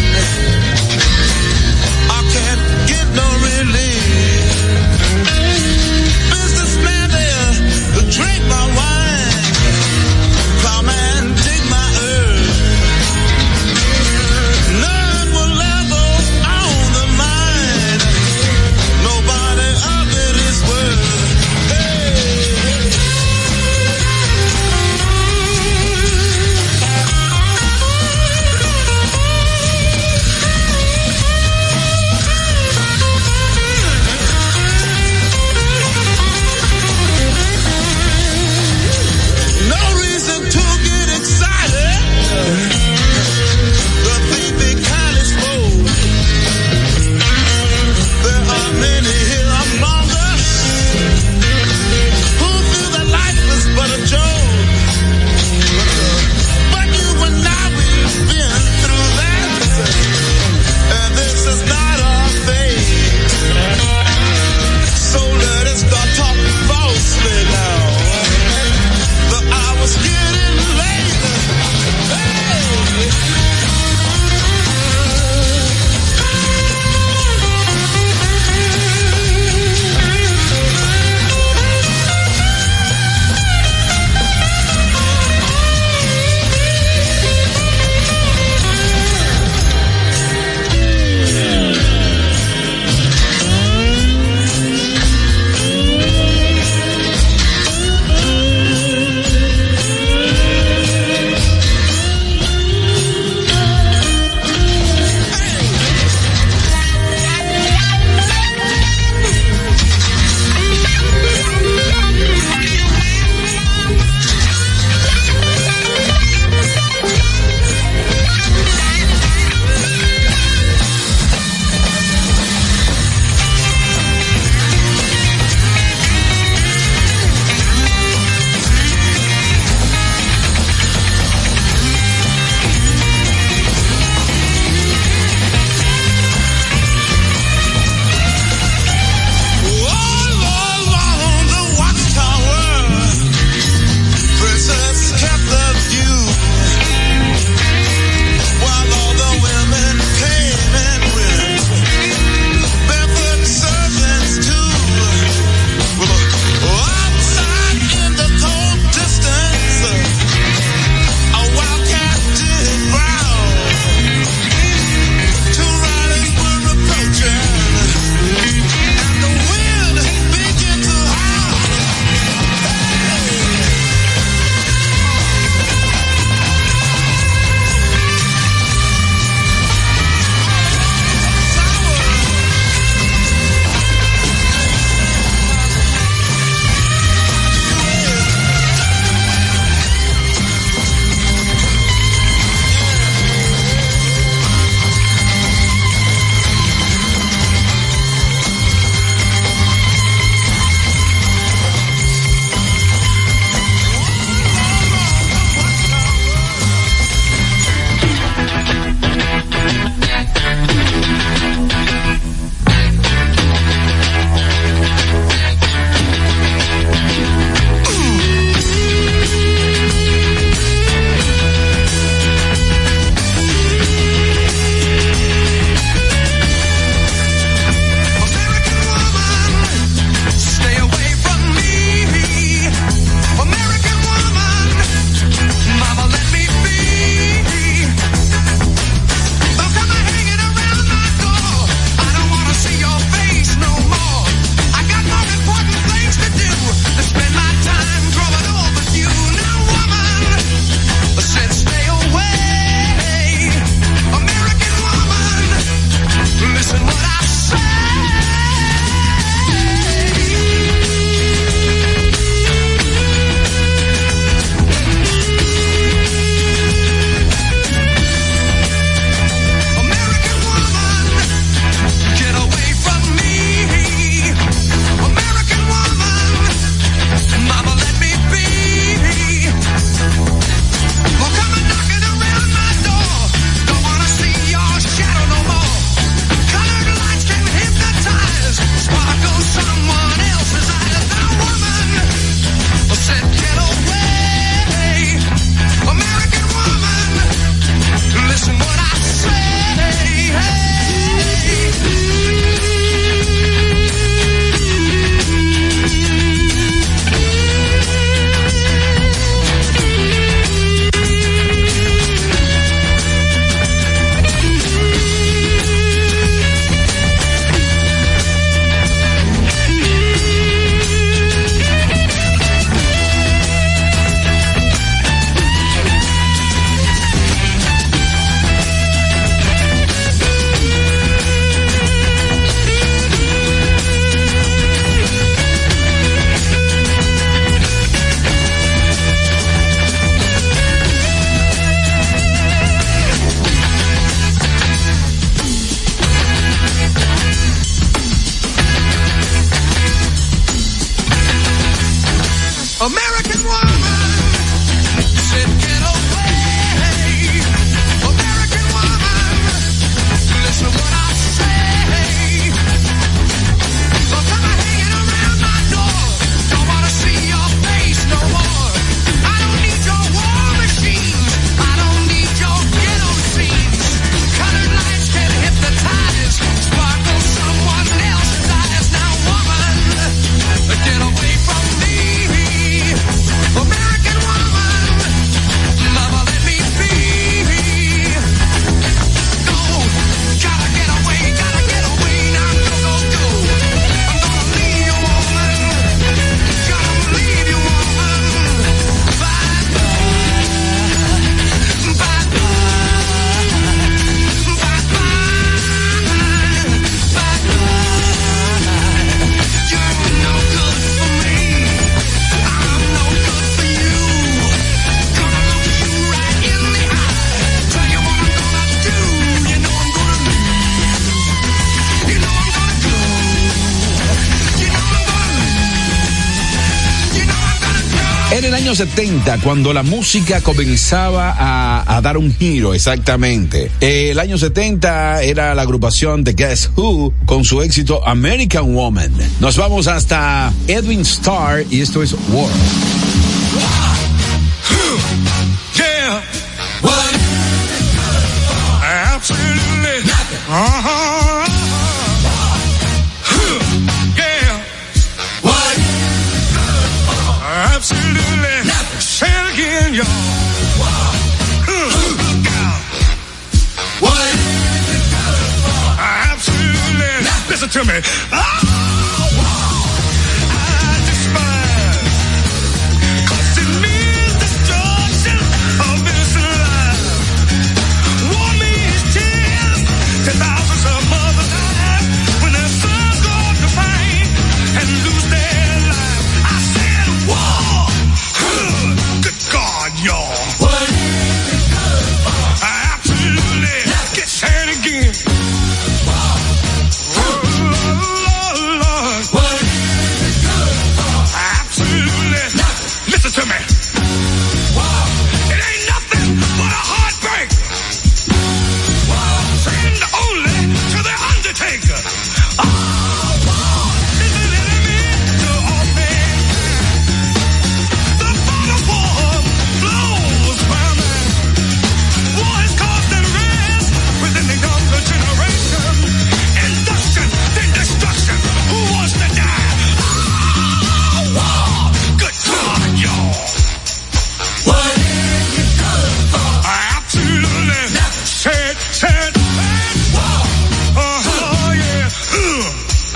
I can't get no relief. Businessman there, drink my wine. Come and dig my earth. None will ever own the mine. American woman said get away. American woman, listen what I say. So come on hanging around my door. Don't wanna see your face no more. I don't need your war machines. I don't need your ghetto scenes. Colored lights can hypnotize. Sparkle someone else's eyes. Now woman, get away from me. American woman, mama, let me be. Go, gotta get away, gotta get away. Now go, go, go. I'm gonna leave you, woman. Gonna leave you, woman. Bye, bye, bye, bye, bye, bye, bye. You're no good for me. I'm no good for you. Gonna look you right in the eye. Tell you what I'm gonna do. You know I'm gonna leave. You know I'm gonna go. You know I'm gonna leave. You know I'm gonna go. En el año setenta, cuando la música comenzaba a, a dar un giro, exactamente. Eh, el año setenta era la agrupación de Guess Who con su éxito American Woman. Nos vamos hasta Edwin Starr y esto es War. Yeah. What? Absolutely nothing. Uh-huh. Yeah. What? Absolutely nothing. Say it again, y'all. What? Absolutely nothing. Listen to me. Oh, I despise. 'Cause it means destruction of innocent life. War means tears to thousands of mothers die when their sons go to fight and lose their life. I said war. Good God, y'all. What? Absolutely. Get sad again. Oh, Lord, Lord. What? Absolutely. Listen to me. It ain't nothing but a heartbreak. Send only to the Undertaker. Oh, this is an enemy to all mankind. The fog of war blows by man. War has caused unrest within the younger generation. Induction, then destruction. Who wants to die? Oh, war. Good God, y'all. What is it good for? Absolutely. Said, said, said. War. Oh, yeah. Ugh.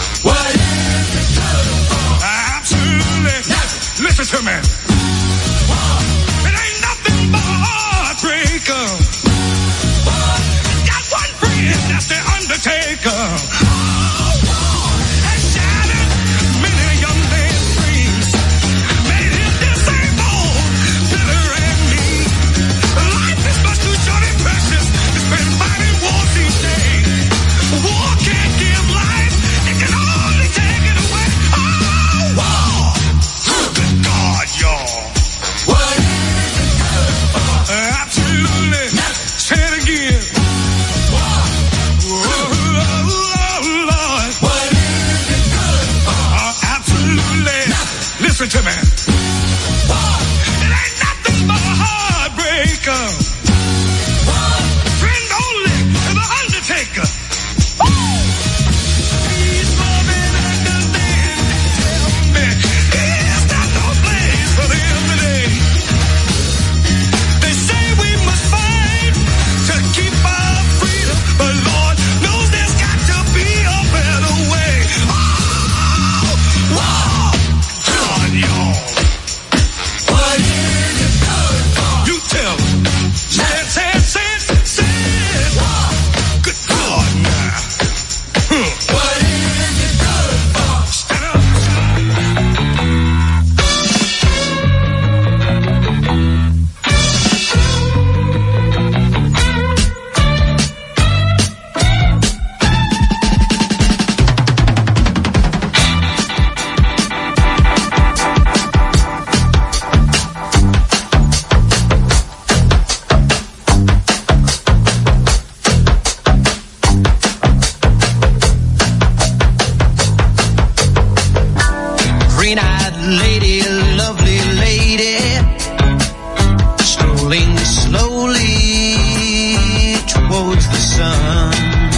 Green-eyed lady, lovely lady, strolling slowly towards the sun.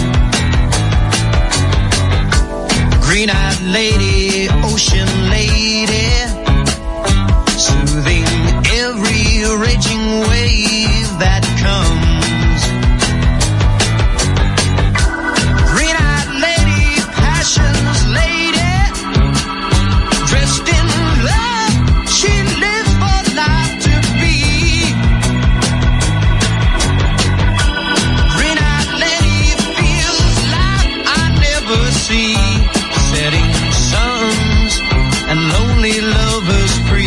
Green-eyed lady, ocean lady, soothing every raging wave that comes. Green-eyed lady, passion's lady, dressed in love, she lives for life to be. Green-eyed lady feels life I never see, setting suns and lonely lovers free.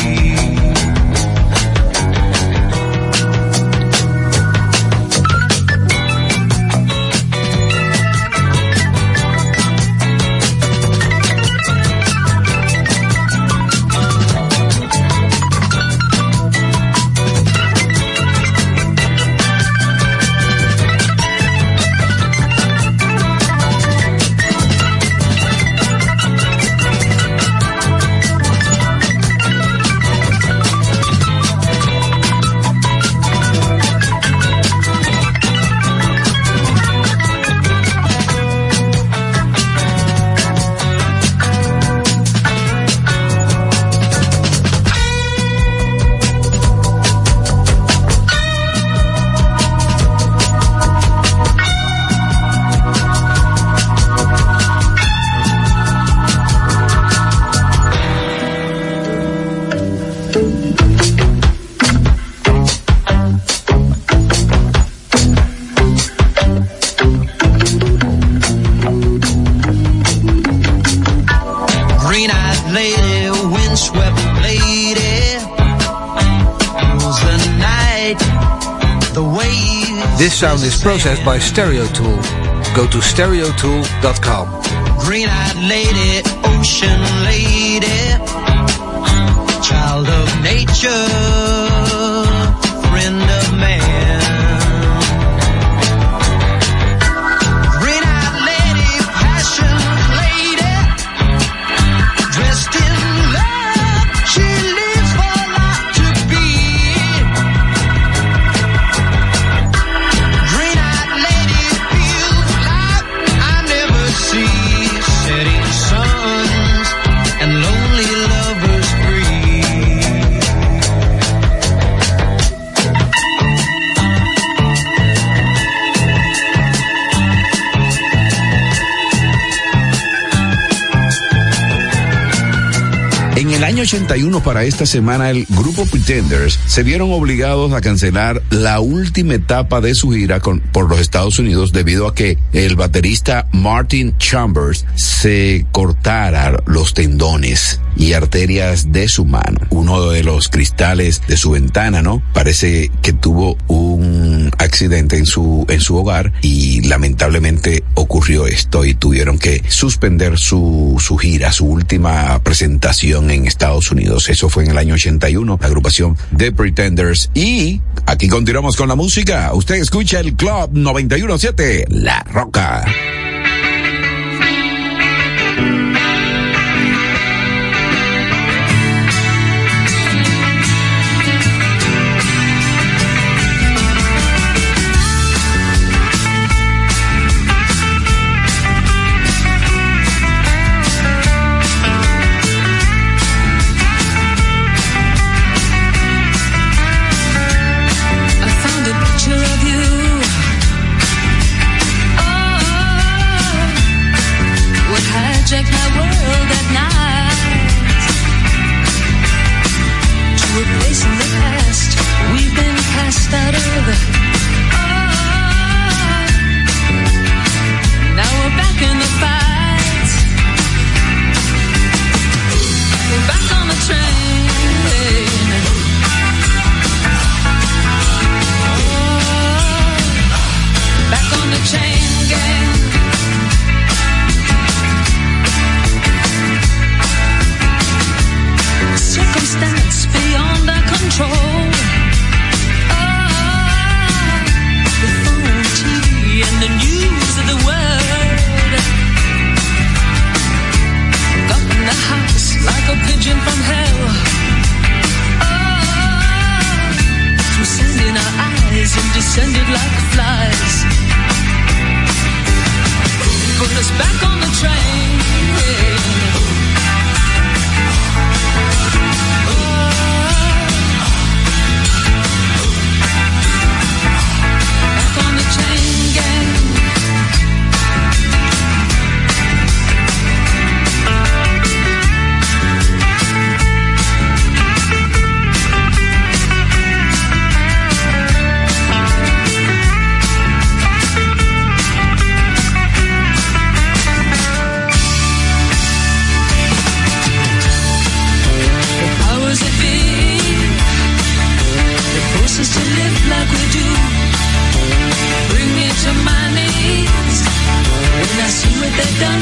This sound is processed by Stereo Tool. Go to stereo tool dot com. Green-eyed lady, ocean lady, child of nature, friend of man. Green-eyed lady, passion lady, dressed in love, she lives for life to be. Green-eyed lady feels life I never see, setting suns and lonely lovers free. En el año ochenta y uno, para esta semana, el grupo Pretenders se vieron obligados a cancelar la última etapa de su gira con, por los Estados Unidos debido a que el baterista Martin Chambers se cortara los tendones y arterias de su mano. Uno de los cristales de su ventana, ¿no? Parece que tuvo un accidente en su, en su hogar y lamentablemente ocurrió esto y tuvieron que suspender su, su gira, su última presentación en Estados Unidos. Eso fue en el año ochenta y uno, la agrupación The Pretenders. Y aquí continuamos con la música. Usted escucha el Club noventa y uno punto siete, La Roca. I found a picture of you. Oh,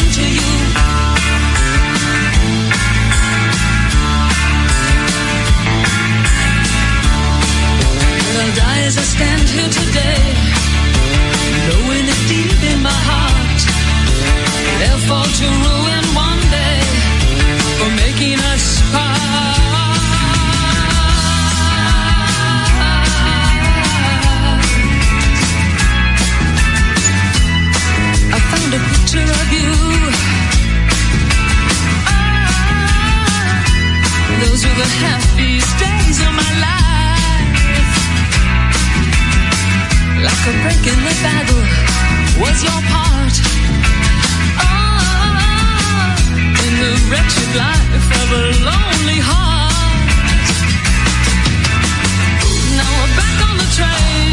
to you. I'll die as I stand here today, knowing it deep in my heart, they'll fall to ruin one day for making us part. I found a picture of you. Ah, those were the happiest days of my life. Like a break in the battle was your part. Oh, in the wretched life of a lonely heart. Now we're back on the train.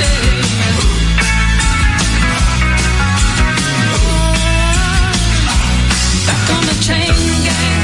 Back on the chain gang.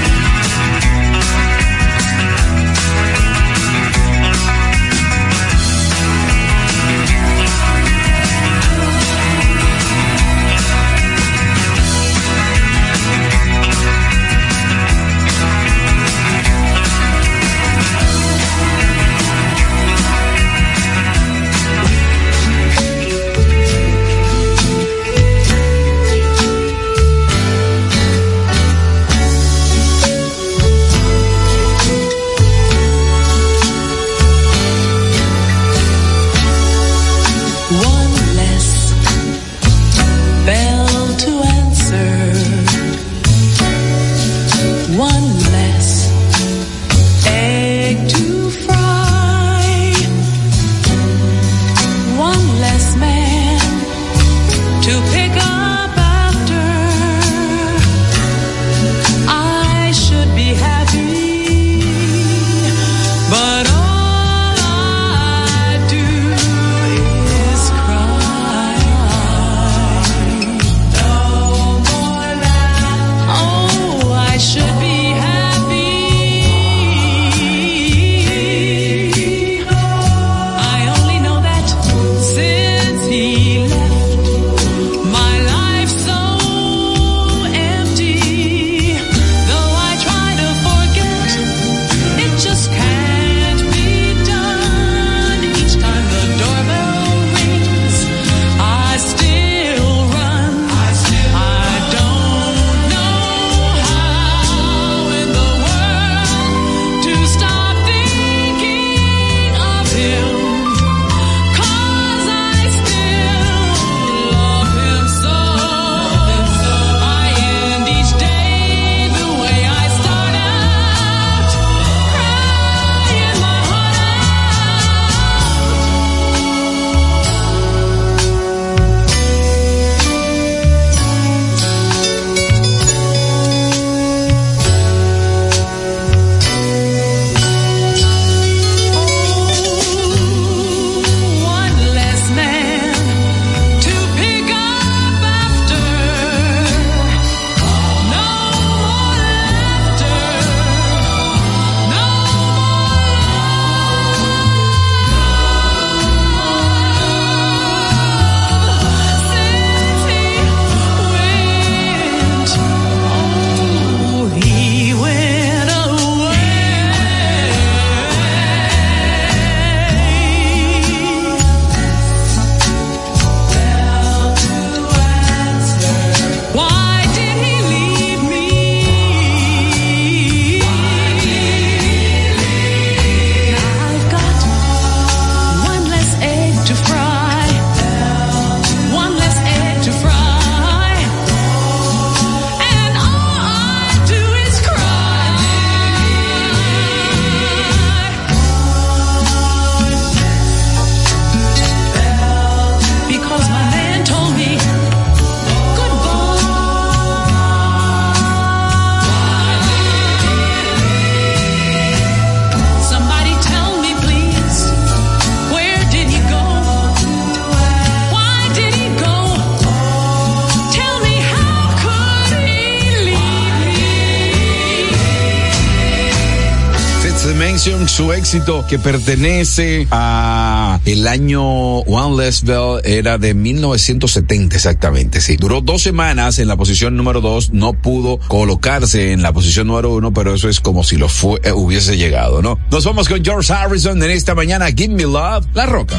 Dimension, su éxito que pertenece a el año One Less Bell era de mil novecientos setenta exactamente, sí. Duró dos semanas en la posición número dos, no pudo colocarse en la posición número uno, pero eso es como si lo fue, eh, hubiese llegado, ¿no? Nos vamos con George Harrison en esta mañana, Give Me Love, La Roca.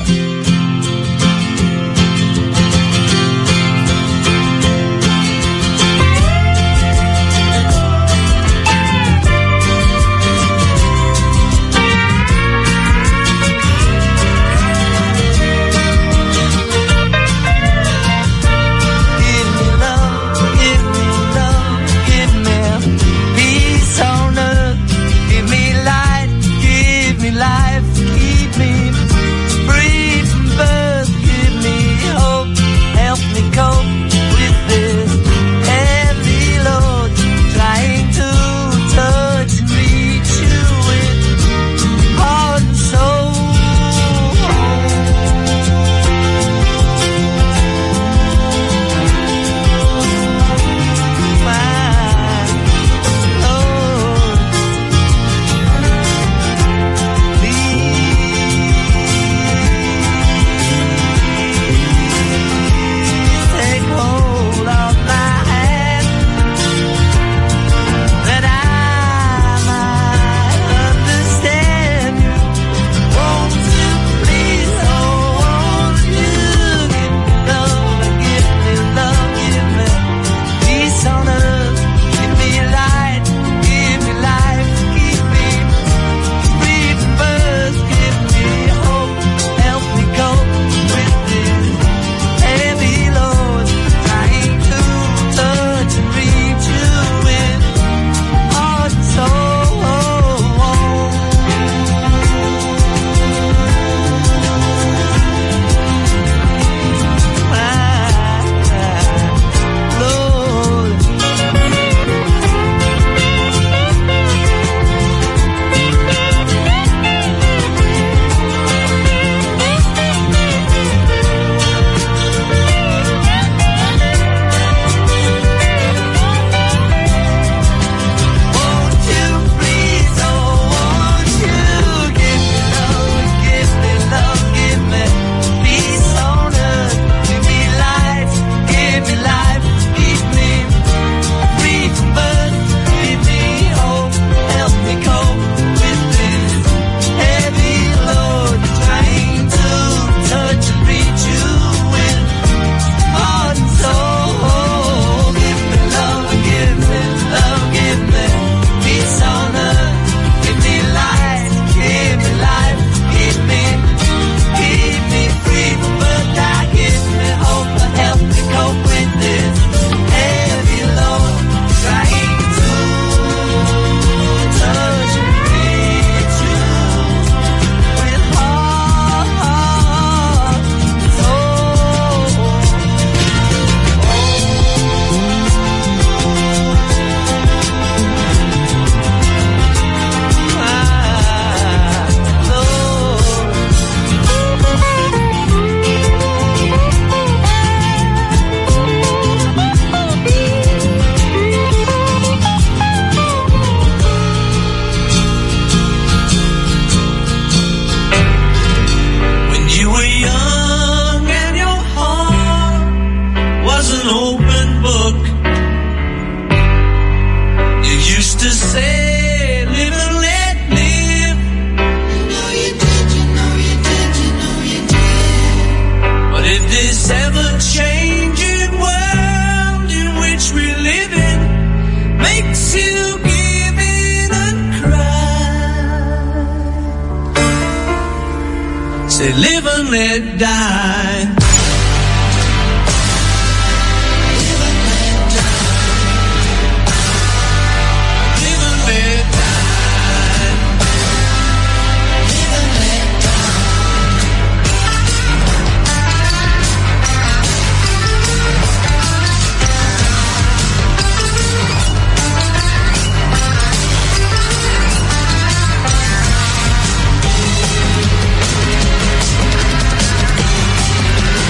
Live and let die. Live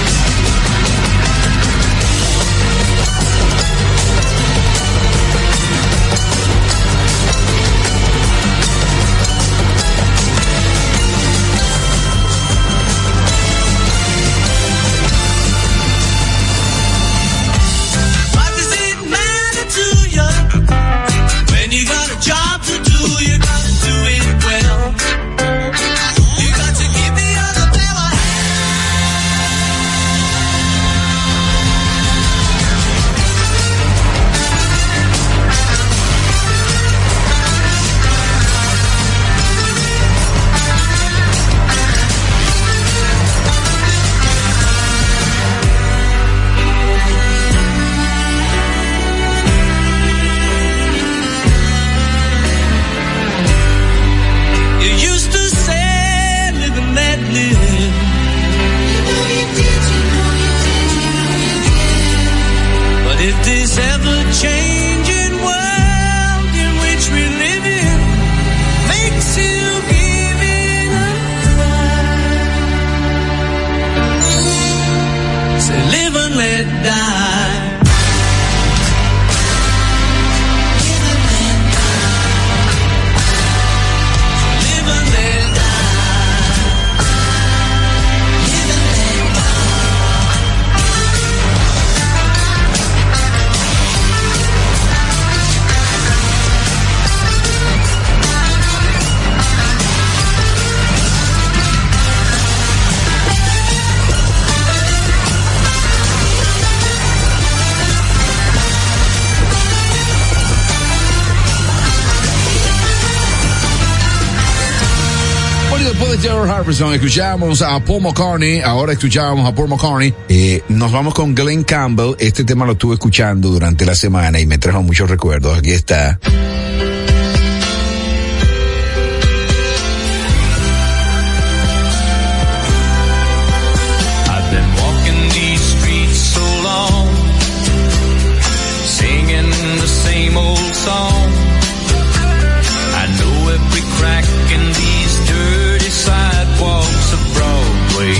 después de George Harrison escuchamos a Paul McCartney, ahora escuchábamos a Paul McCartney, eh, nos vamos con Glenn Campbell. Este tema lo estuve escuchando durante la semana y me trajo muchos recuerdos. Aquí está. I've been walking these streets so long, singing the same old song. I know every crack in these dirty sidewalks of Broadway,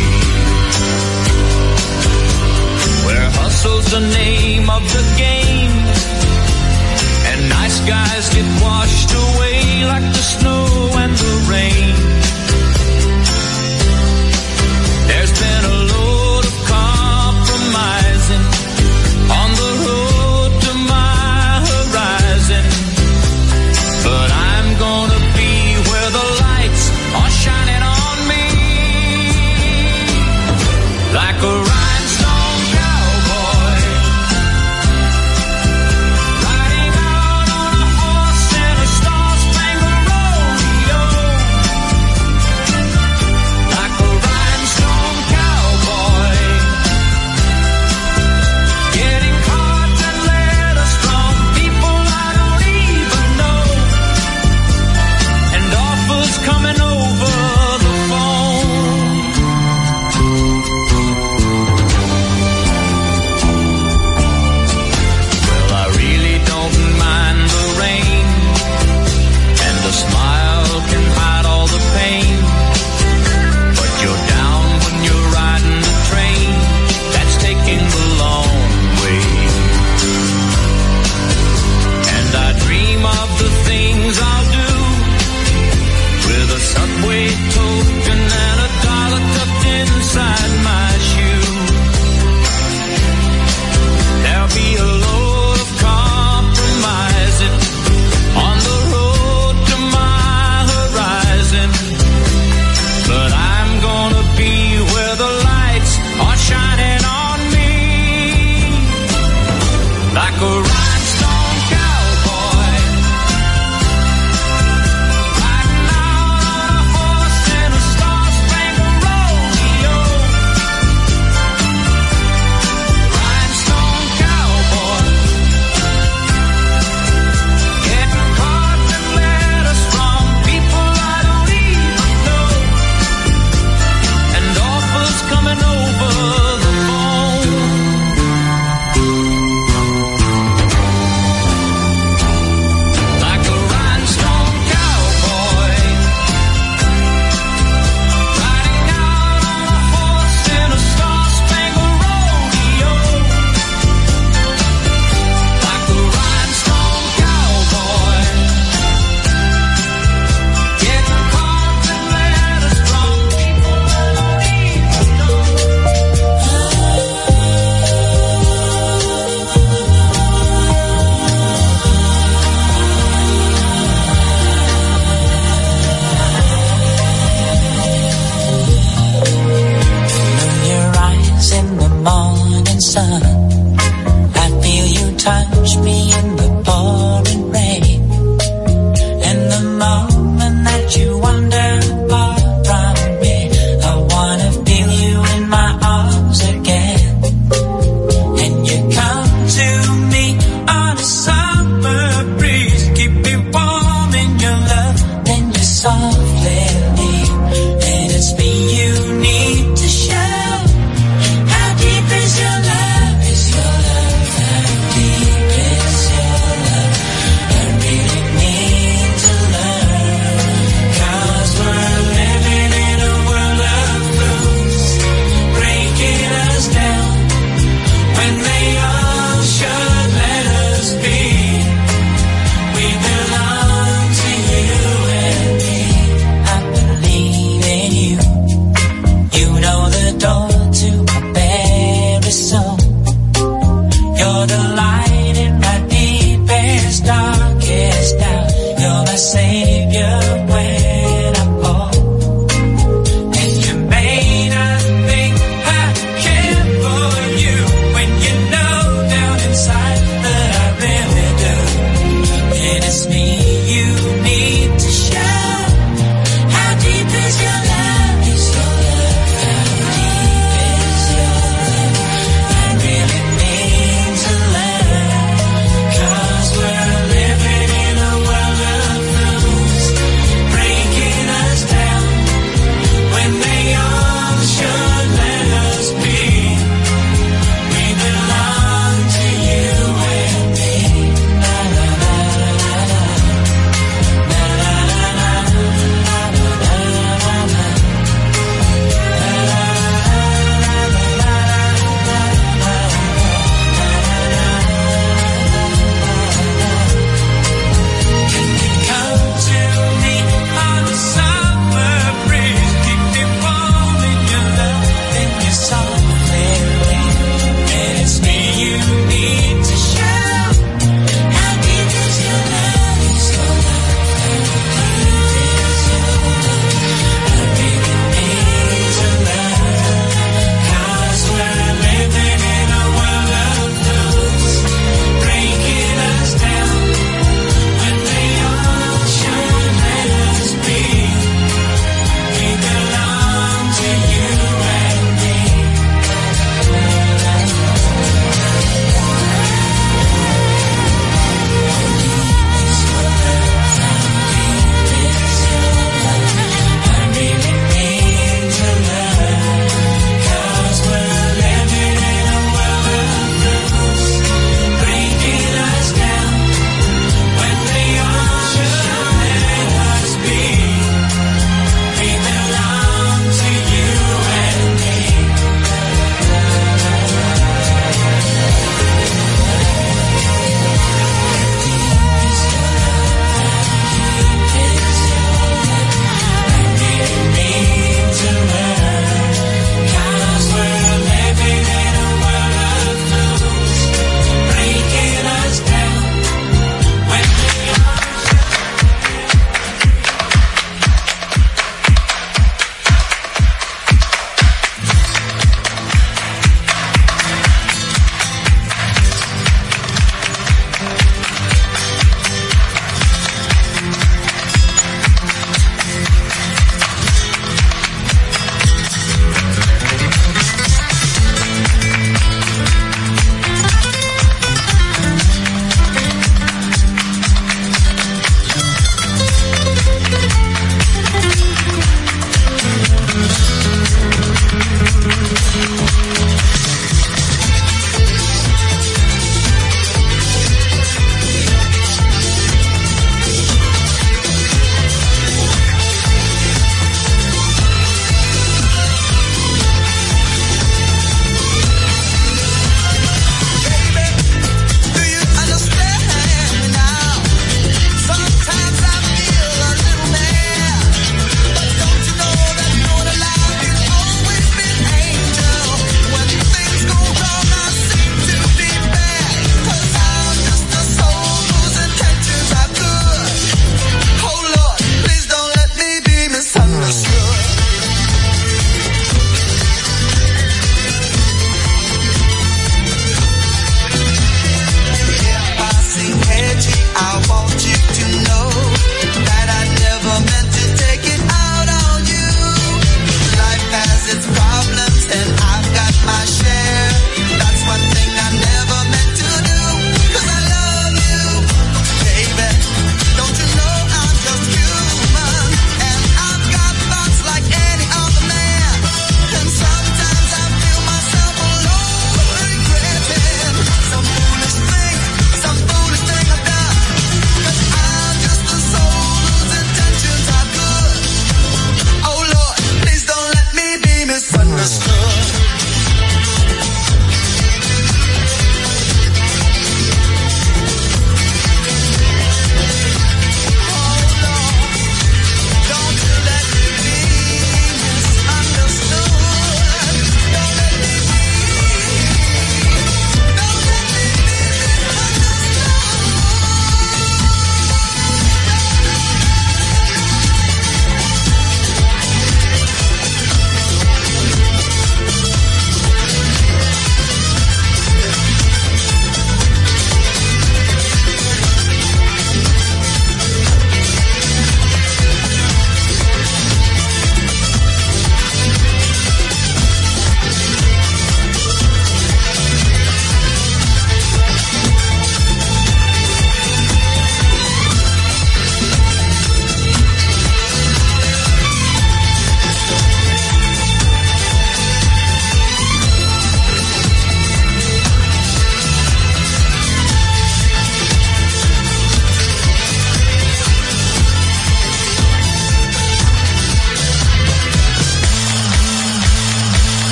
where hustle's the name of the game, and nice guys get washed away like the snow and the rain. There's been a load of compromising on the road to my horizon, but I'm gonna be where the lights are shining on me, like a rhinestone cowboy, riding out on a horse in a star-spangled road.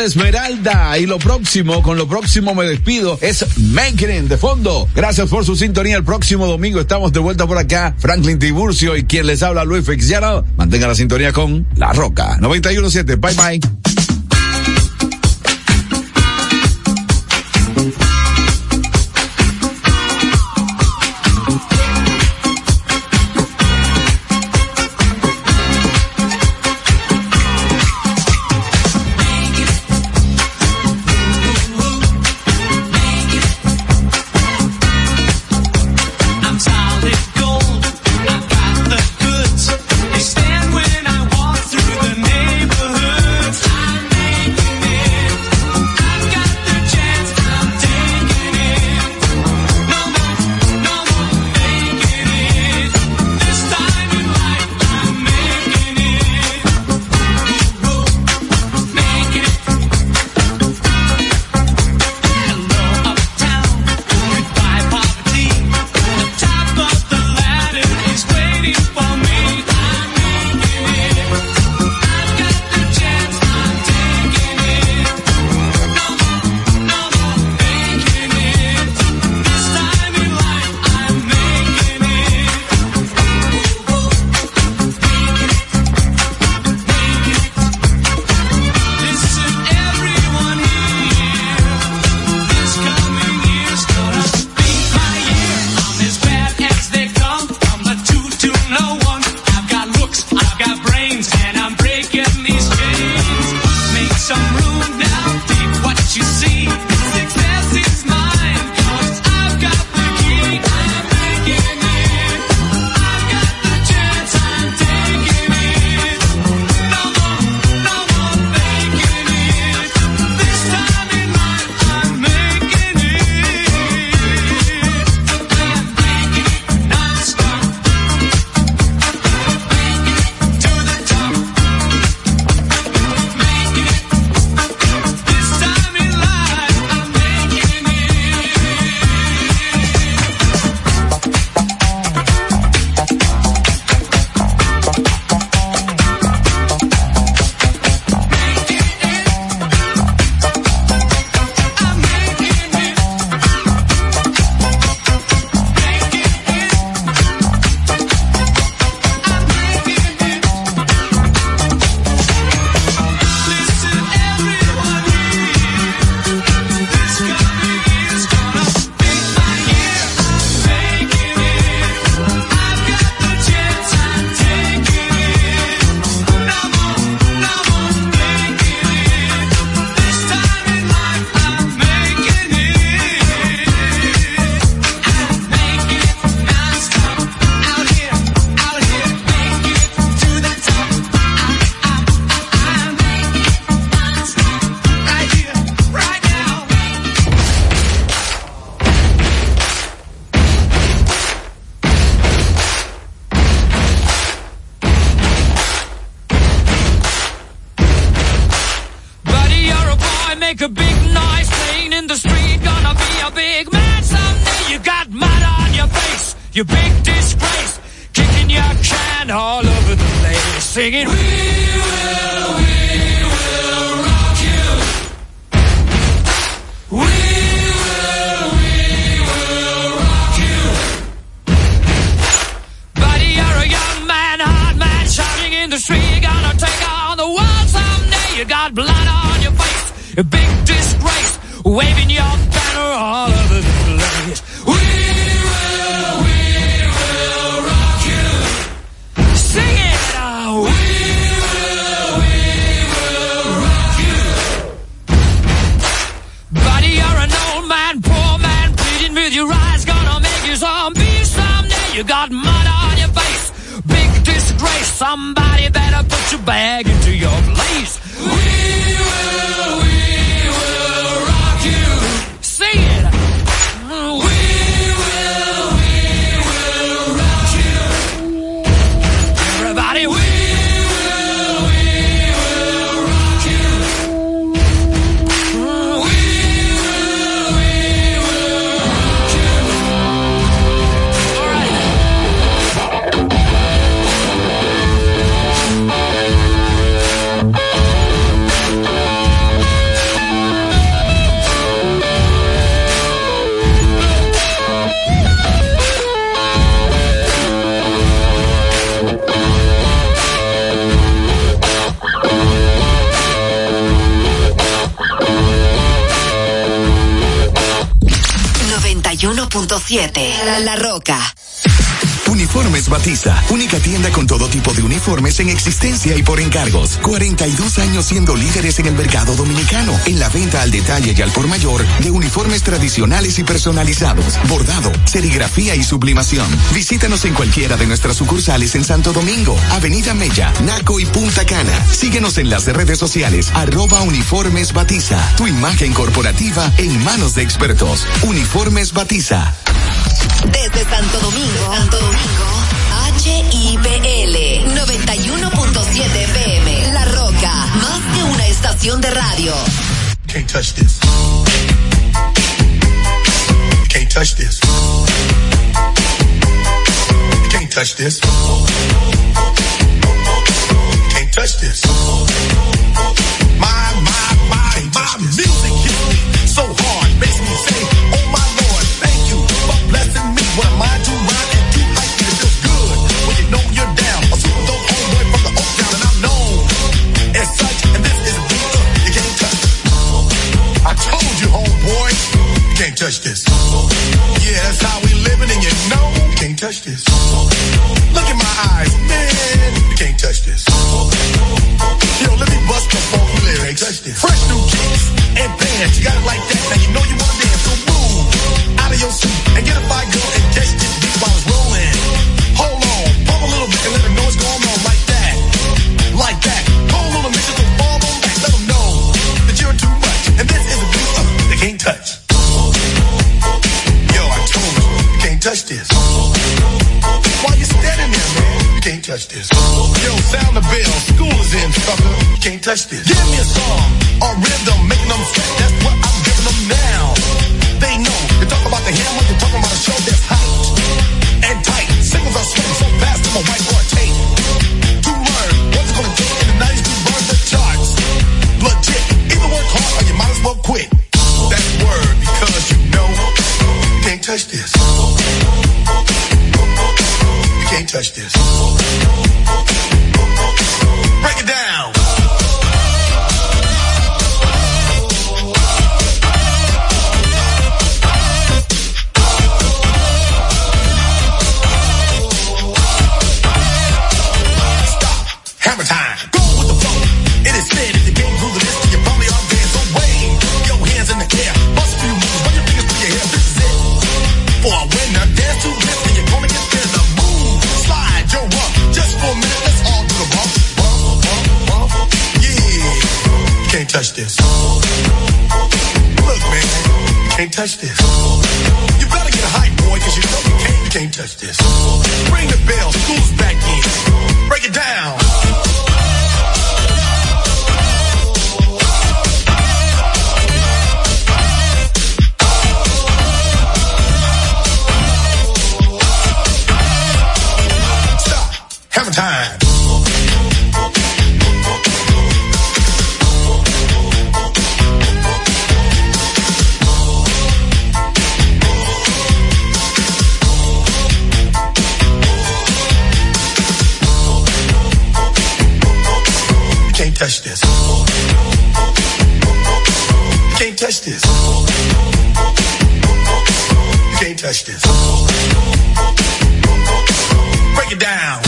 de Esmeralda. Y lo próximo, con lo próximo me despido, es Making It de fondo. Gracias por su sintonía. El próximo domingo estamos de vuelta por acá. Franklin Tiburcio y quien les habla, Luis Fitzgerald. Mantenga la sintonía con La Roca noventa y uno punto siete. Bye bye. make a big noise playing in the street. Gonna be a big man someday. You got mud on your face, you big disgrace. Kicking your can all over the place, singing, we will, we will rock you. We will, we will rock you. Buddy, you're a young man, hard man, shouting in the street. You're gonna take on the world someday. You got blood on your face, a big disgrace, waving your banner all over the place. We will, we will rock you. Sing it out. We will, we will rock you. Buddy, you're an old man, poor man, pleading with your eyes, gonna make you zombie someday. You got mud on your face, big disgrace. Somebody better put your bag into your place. We will, we will rock you. Sing it. We will, we will rock you. Everybody, we will, we will rock you. We will, we will rock you. All right. siete. La, La Roca. Uniformes Batiza, única tienda con todo tipo de uniformes en existencia y por encargos. cuarenta y dos años siendo líderes en el mercado dominicano, en la venta al detalle y al por mayor de uniformes tradicionales y personalizados, bordado, serigrafía y sublimación. Visítanos en cualquiera de nuestras sucursales en Santo Domingo, Avenida Mella, Naco y Punta Cana. Síguenos en las redes sociales, arroba Uniformes Batiza. Tu imagen corporativa en manos de expertos. Uniformes Batiza. Desde Santo Domingo, Santo Domingo, H I P L noventa y uno punto siete F M. La Roca, más que una estación de radio. Can't touch this. Can't touch this. Can't touch this. Can't touch this. My, my, my, my music hits me so hard, makes me say, oh my Lord, thank you for blessing me. What am I to rhyme and do like it feels good when you know you're down. A super dope homeboy from the Oak Town, and I'm known as such. And this is a beat up you can't touch. I told you, homeboy, you can't touch this. Yeah, that's how we living, and you know you can't touch this. Look in my eyes, man, you can't touch this. Yo, let me bust the funky lyrics. Fresh new kicks and bands, you got it like that. Now you know you wanna dance, so move out of your seat and get a fire girl and catch this beat while it's rolling. Hold on, pump a little bit and let them know what's going on like that, like that. Hold on a minute, just fall on back, let them know that you're too much. And this is a beat uh, they can't touch. Yo, I told you, you can't touch this. While you're standing there, man, you can't touch this. Yo, sound the bell, school is in, sucker. You can't touch this. Give me a song or rhythm, making them sweat. That's what I'm giving them now. They know. You talk about the hammer, you're talking about a show that's hot and tight. Singles are sweating so fast, I'm a whiteboard tape. To learn what's it gonna take in the nineties to burn the charts. Legit. Either work hard or you might as well quit. That word, because you know you can't touch this. You can't touch this. Break it down. Stop. Hammer time. Go with the flow. It is said if you can't groove the list, you probably are dead. So wave your hands in the air. Bust a few moves. Run your fingers through your hair. This is it. For a winner, dance to this, and you're gonna get there. The move. Slide your rump. Just for a minute, let's all do the bump. Bump, bump, bump. Yeah. You can't touch this. Look, man. You can't touch this. You better get a hype, boy, cause you know you can't, you can't touch this. Ring the bell. School's back in. Break it down. Hammer time. You can't touch this. You can't touch this. You can't touch this. Break it down.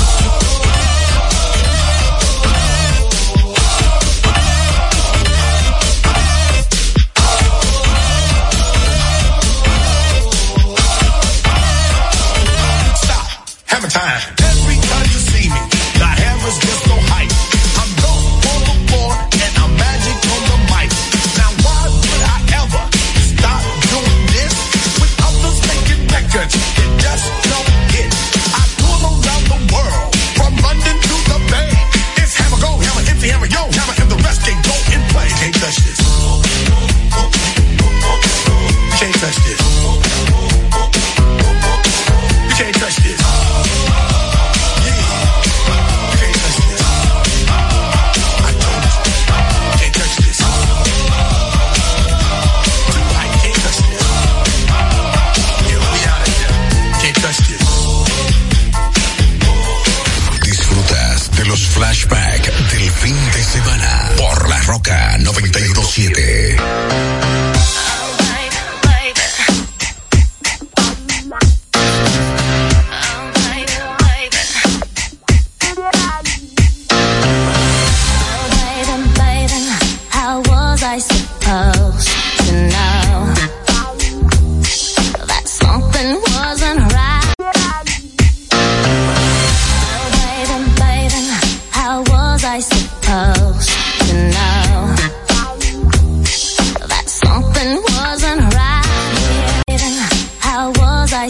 Hammer time. Every time you see me, the hammer's just so hype. I'm dope on the floor and I'm magic on the mic. Now why would I ever stop doing this with others making records that just don't hit? I tour around the world from London to the Bay. It's hammer go, hammer empty, hammer yo, hammer and the rest can go and play. You can't touch this. You can't touch this. You can't touch this.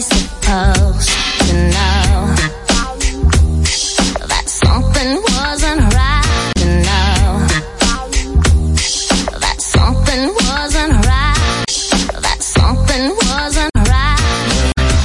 supposed to know that something